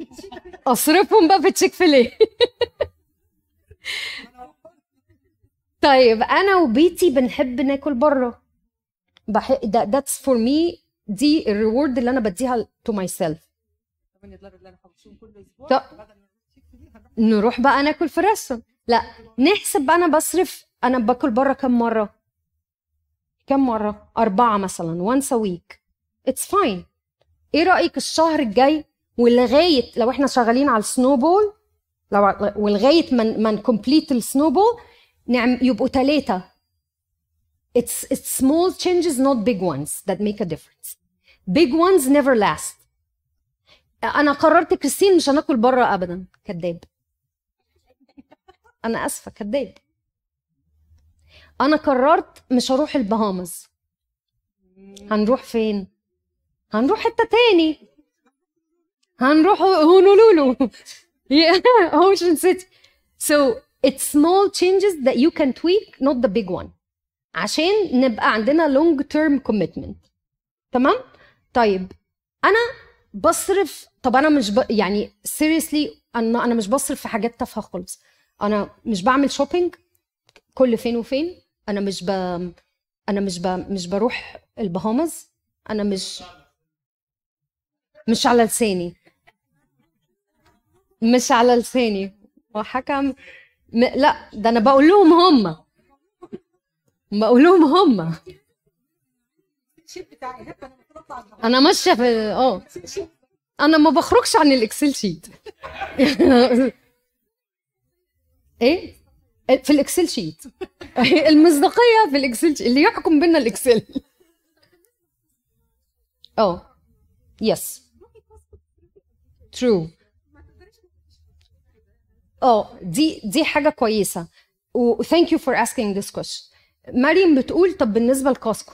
Speaker 1: اصرفهم بقى في تشيك فيليه. طيب انا وبيتي بنحب ناكل بره، بح... ده that's for me، دي الريورد اللي انا بديها to myself.
Speaker 4: طب نتلغي اللي انا هبصهم كل اسبوع
Speaker 1: طب
Speaker 4: بدل ما نمشي كتير، هنروح
Speaker 1: نروح بقى ناكل في ريستورانت. لا نحسب بقى، انا بصرف، انا باكل بره كم مره كم مره اربعه مثلا once a week. it's fine. ايه رايك الشهر الجاي ولغايه لو احنا شغالين على السنو بول، لو ولغايه من من كومبليت السنو بول نعم يبقوا ثلاثه. it's it's small changes not big ones that make a difference. big ones never last. انا قررت كريستين مش هناكل بره ابدا. كداب. انا اسفه كداب. انا قررت مش هروح البهامز. هنروح فين؟ هنروح حته تاني، هنروح هونولولو. yeah ocean city. so it's small changes that you can tweak not the big one عشان نبقى عندنا long term commitment. تمام؟ طيب انا بصرف، طب انا مش ب... يعني seriously انا انا مش بصرف في حاجات تافهه خالص. انا مش بعمل شوبينج كل فين وفين. انا مش ب... انا مش ب... مش بروح البهامز. انا مش مش على لساني، مش على لساني وحكم م... لا ده انا بقول لهم هم بقول لهم هم
Speaker 4: الشيت بتاعي هيك انا بطلع النهارده.
Speaker 1: انا ماشيه في اه انا ما بخرجش عن الاكسل شيت. ايه في الاكسل شيت. المصداقيه في الاكسل شيت اللي يحكم بينا الاكسل. اه يس ترو. اه دي دي حاجه كويسه و thank you for asking this question. مريم بتقول طب بالنسبه لكاسكو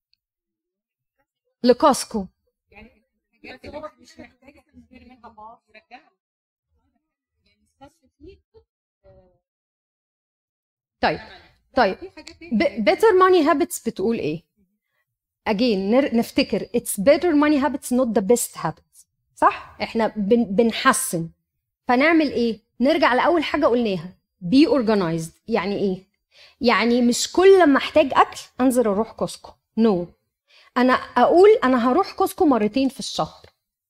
Speaker 1: لكاسكو
Speaker 4: يعني الحاجات اللي هو مش محتاجه تشتري منها باص رجعها، يعني استثمر فيه.
Speaker 1: طيب طيب
Speaker 4: في حاجات تانية
Speaker 1: better money habits بتقول ايه؟ again نر- نفتكر it's better money habits not the best habits. صح؟ احنا بن بنحسن. فنعمل ايه؟ نرجع لاول حاجه قلناها be organized. يعني ايه؟ يعني مش كل ما احتاج اكل انزل اروح كوسكو. نو no. انا اقول انا هروح كوسكو مرتين في الشهر،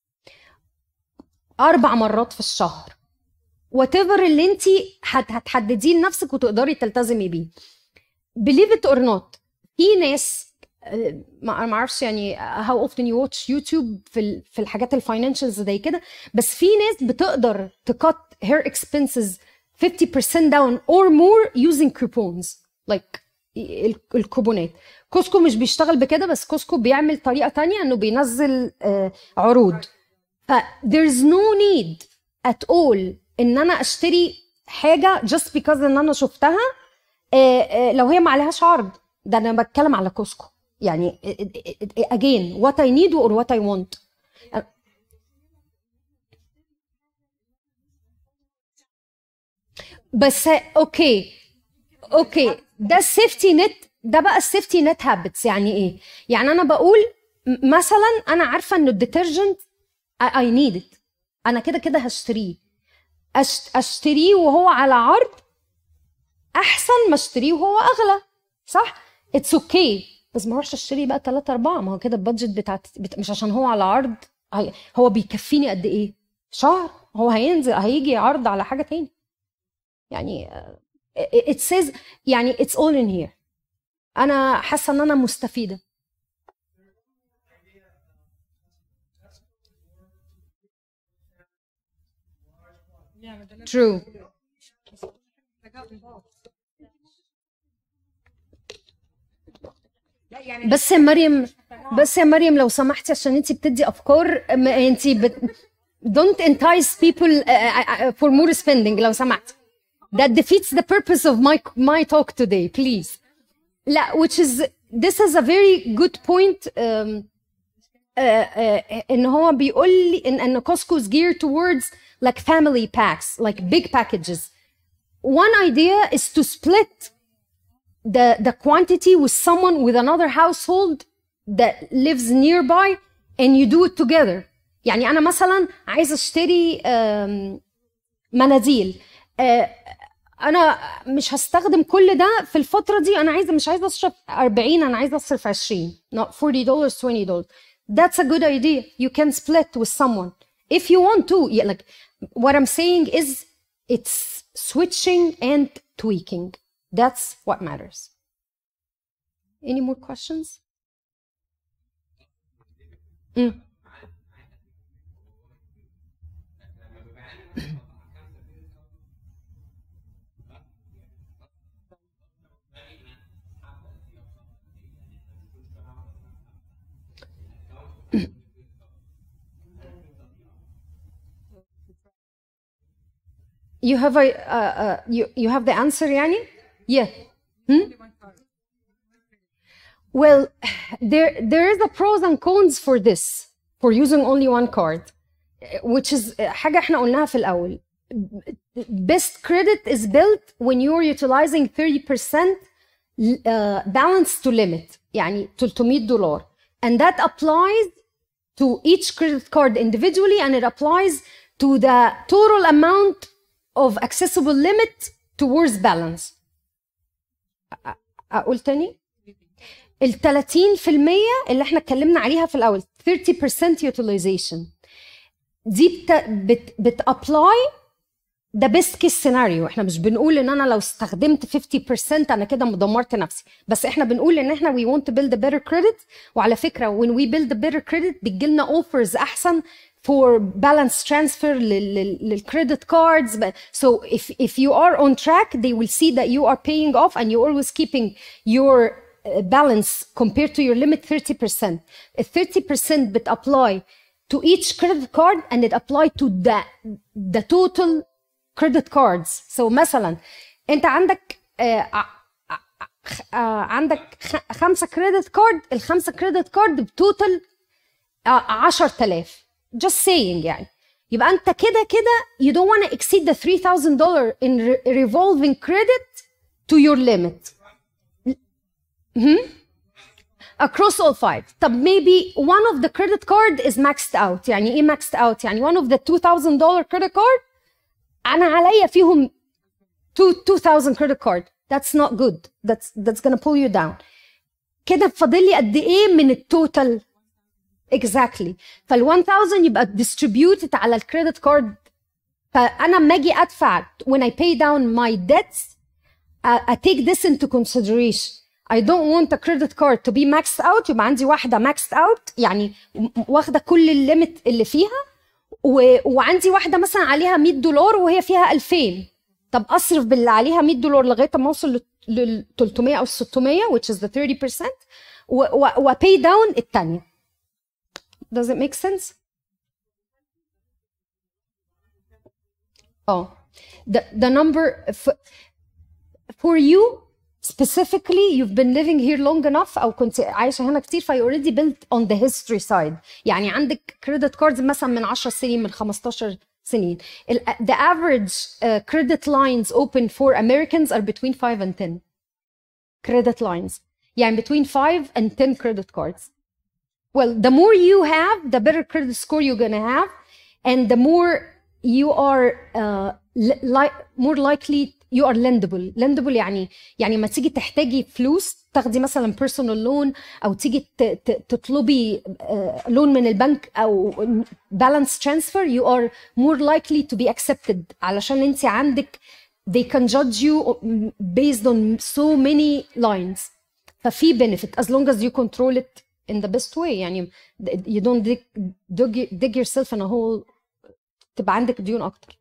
Speaker 1: اربع مرات في الشهر، whatever اللي انت هتحدديه لنفسك وتقدري تلتزمي بيه. believe it or not في ناس ما ما اعرفش يعني how often you watch YouTube في ال- في الحاجات الفاينانشالز زي كده، بس في ناس بتقدر تكت her expenses fifty percent down or more using coupons like ال- الكوبونات. كوسكو مش بيشتغل بكده، بس كوسكو بيعمل طريقة تانية انه بينزل آه، عروض. ف there's no need at all ان انا اشتري حاجة just because ان انا شفتها آه، آه، لو هي ما عليهاش عرض. ده انا بتكلم على كوسكو يعني again what I need or what I want. بس اوكي اوكي ده السيفتي نت. ده بقى السيفتي نت هابتس. يعني ايه؟ يعني انا بقول م- مثلا انا عارفه ان الديترجنت I need it، انا كده كده هشتريه. أشت- اشتريه وهو على عرض احسن ما اشتريه وهو اغلى. صح؟ اتس اوكي okay. بس ما اروحش اشتري بقى ثلاثة أربعة. ما هو كده البادجت بتاعت بت... مش عشان هو على عرض. هي... هو بيكفيني قد ايه؟ شهر. هو هينزل هيجي عرض على حاجه تاني. يعني it says يعني it's all in here. انا حاسه ان انا مستفيده.
Speaker 4: يعني ده
Speaker 1: true.
Speaker 4: رجعت الباص. لا يعني
Speaker 1: بس يا مريم بس يا مريم لو سمحتي عشان انت بتدي افكار، انت بت... don't entice people for more spending لو سمحتي. That defeats the purpose of my my talk today, please. لا which is this is a very good point. um, uh, uh, ان هو بيقول لي ان ان Costco is geared towards like family packs, like big packages. One idea is to split the the quantity with someone with another household that lives nearby and you do it together. يعني انا مثلا عايزه اشتري um, مناديل. uh, انا مش هستخدم كل ده في الفتره دي، انا عايزه مش عايزه اصرف أربعين، انا عايزه اصرف عشرين not forty dollars twenty dollars. That's a good idea. You can split with someone if you want to. Yeah, like what I'm saying is it's switching and tweaking. That's what matters. Any more questions? Mm. You have a uh, uh, you you have the answer يعني? Yeah. Hmm? Well, there there is a pros and cons for this, for using only one card, which is حاجة احنا قلناها في الأول. Best credit is built when you're utilizing thirty percent uh, balance to limit, يعني ثلاثمية دولار, and that applies to each credit card individually, and it applies to the total amount of accessible limit towards balance. أقول تاني؟ ال ثلاثين في المية اللي احنا اتكلمنا عليها في الأول thirty percent utilization دي بت بت بتابلاي ده best case scenario. احنا مش بنقول ان انا لو استخدمت fifty percent انا كده مدمرت نفسي، بس احنا بنقول ان احنا we want to build a better credit. وعلى فكرة when we build a better credit بتجيلنا offers أحسن for balance transfer لل credit cards. So if if you are on track, they will see that you are paying off and you're always keeping your balance compared to your limit thirty percent. thirty percent بت apply to each credit card and it apply to the the total credit cards. So مثلا انت عندك uh, uh, عندك خمسة credit card، الخمسة credit card بتوتال عشرة آلاف. just saying يعني. يبقى انت كده كده you don't want to exceed the three thousand dollars in re revolving credit to your limit. Mm-hmm. Across all five. طب maybe one of the credit card is maxed out. يعني ايه maxed out؟ يعني one of the two thousand dollars credit card انا عليا فيهم two thousand credit card. That's not good. That's that's gonna pull you down. كده فاضل لي قد ايه من التوتال؟ exactly. فال one thousand يبقى distributed على الكريدت كارد. فانا لما اجي ادفع when I pay down my debts I, I take this into consideration. I don't want a credit card to be maxed out. يبقى عندي واحده maxed out يعني واخده كل الليميت اللي فيها، و... وعندي واحده مثلا عليها مية دولار وهي فيها ألفين. طب اصرف باللي عليها مية دولار لغايه ما اوصل لل ثلاثمية او ستمية which is the thirty percent و, و... و pay down الثانيه. Does it make sense? Oh, the the number for, for you specifically, you've been living here long enough أو كنت عايشة هنا كتير، فا you already built on the history side. يعني عندك credit cards مثلا من عشر سنين، من خمستاشر سنين. The average uh, credit lines open for Americans are between five and ten credit lines. يعني between five and ten credit cards. Well, the more you have, the better credit score you're gonna have, and the more you are uh, li more likely you are lendable. Lendable يعني يعني ما تيجي تحتاجي فلوس تاخدي مثلا personal loan أو تيجي تطلبي لون من البنك أو balance transfer, you are more likely to be accepted علشان أنت عندك they can judge you based on so many lines. ففي benefit as long as you control it in the best way. يعني you don't dig, dig, dig yourself in a hole تبقى عندك ديون أكتر.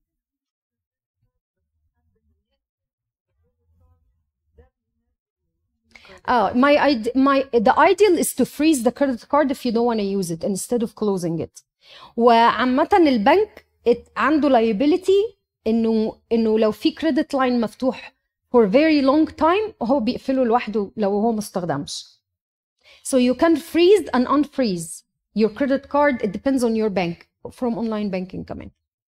Speaker 1: Uh, my, my, the ideal is to freeze the credit card if you don't want to use it instead of closing it. وعامة البنك عنده liability إنه إنه لو في credit line مفتوح for very long time هو بيقفله لوحده لو هو مستخدمش. So you can freeze and unfreeze your credit card. It depends on your bank from online banking كمان.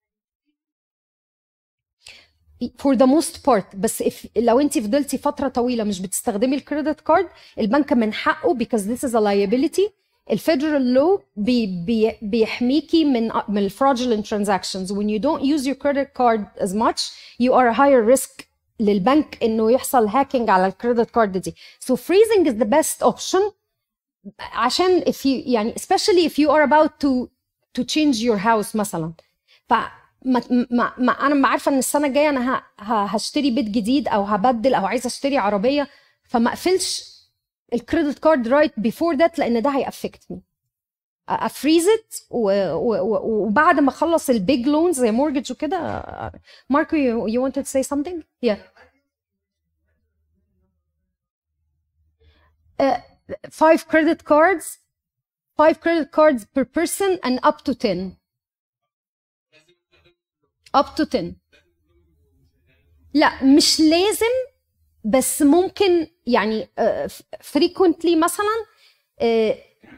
Speaker 1: For the most part. بس if لو انت فضلتي فترة طويلة مش بتستخدمي الكريدت كارد، البنك من حقه because this is a liability الفيدرال لو بي بي بيحميكي من من الفراudulent transactions. when you don't use your credit card as much you are a higher risk للبنك انه يحصل هاكينج على الكريدت كارد دي. so freezing is the best option عشان if you يعني especially if you are about to to change your house مثلا. ف ما, ما, ما انا عارفه ان السنه الجايه انا ه, ه, هشتري بيت جديد او هبدل او عايزه اشتري عربيه، فما اقفلش الكريدت كارد رايت بيفور ذات لان ده هيأفكت مي. افريز ات وبعد ما اخلص البيج لونز زي مورجج وكده. ماركو you, you wanted to say something? Yeah. Uh, five credit cards five credit cards per person and up to ten up to ten. لا مش لازم بس ممكن يعني uh, frequently مثلا uh,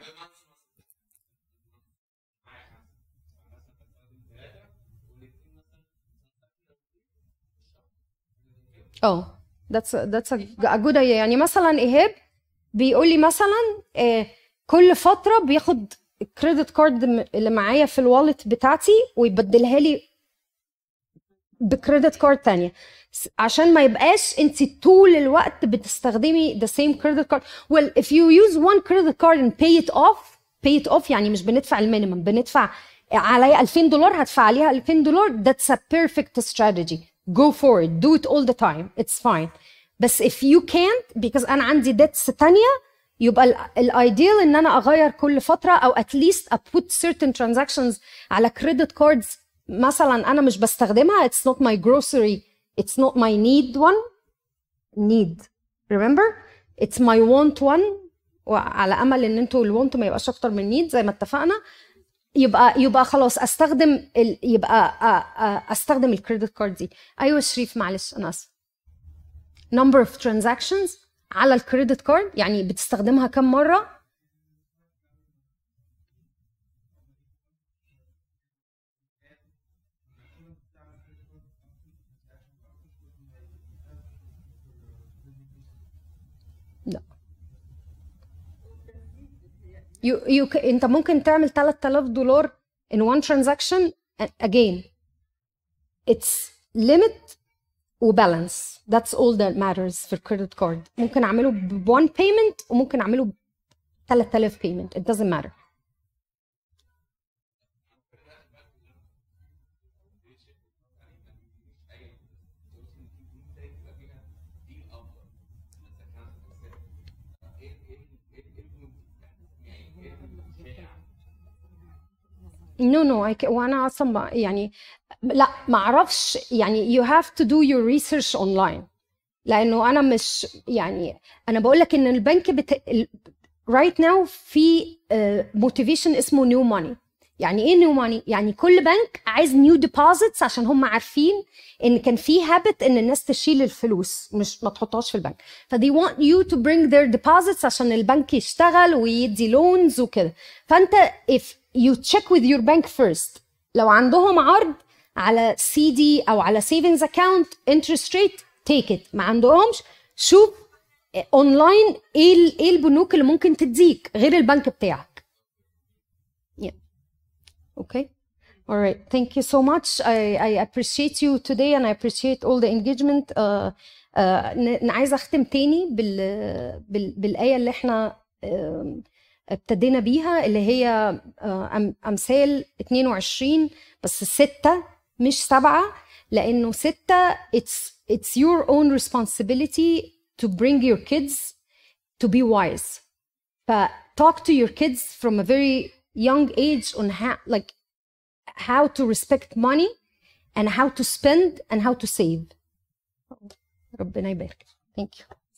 Speaker 1: اه that's a, that's a good idea. يعني مثلا ايهاب بيقول لي مثلا uh, كل فتره بياخد الكريدت كارد اللي معايا في الوالت بتاعتي ويبدلها لي بكريدت كارد تانية عشان ما يبقاش انت طول الوقت بتستخدمي the same credit card. well if you use one credit card and pay it off pay it off يعني مش بندفع المينيمم، بندفع عليا ألفين دولار هدفع عليها ألفين دولار. that's a perfect strategy. go for it, do it all the time, it's fine. بس if you can't because انا عندي debts تانية يبقى الايديال ان انا اغير كل فتره او at least I put certain transactions على credit cards مثلا انا مش بستخدمها. it's not my grocery, it's not my need one need remember it's my want one وعلى امل ان انتوا الوانت ما يبقاش اكتر من need زي ما اتفقنا. يبقى يبقى خلاص استخدم ال... يبقى استخدم الكريدت كارد دي. ايوه شريف معلش انا اسف. number of transactions على الكريدت كارد يعني بتستخدمها كم مره؟ لا you, you, انت ممكن تعمل ثلاثة آلاف دولار in one transaction. again it's limit وبالانس. that's all that matters في الكريدت كارد. ممكن اعمله ب one payment وممكن اعمله ب ثلاثة آلاف payment, it doesn't matter. no no I can, وانا اصلا يعني لا ما اعرفش يعني you have to do your research online لانه انا مش يعني انا بقول لك ان البنك بت... right now في uh, motivation اسمه new money. يعني ايه new money؟ يعني كل بنك عايز new deposits عشان هم عارفين ان كان في habit ان الناس تشيل الفلوس مش ما تحطهاش في البنك. ف they want you to bring their deposits عشان البنك يشتغل ويدي loans وكده. فانت if you check with your bank first لو عندهم عرض على سي دي او على savings account interest rate take it. ما عندهمش شوف اونلاين ايه ايه البنوك اللي ممكن تديك غير البنك بتاعك. yeah okay all right thank you so much. I I appreciate you today and I appreciate all the engagement. uh, uh, انا عايزه اختم تاني بال, بال بالايه اللي احنا uh, ابتدينا بيها اللي هي امثال اتنين وعشرين بس ستة مش سبعة لانه ستة it's it's your own responsibility to bring your kids to be wise. ف talk to your kids from a very young age on how like how to respect money and how to spend and how to save. ربنا يبارك. Thank you.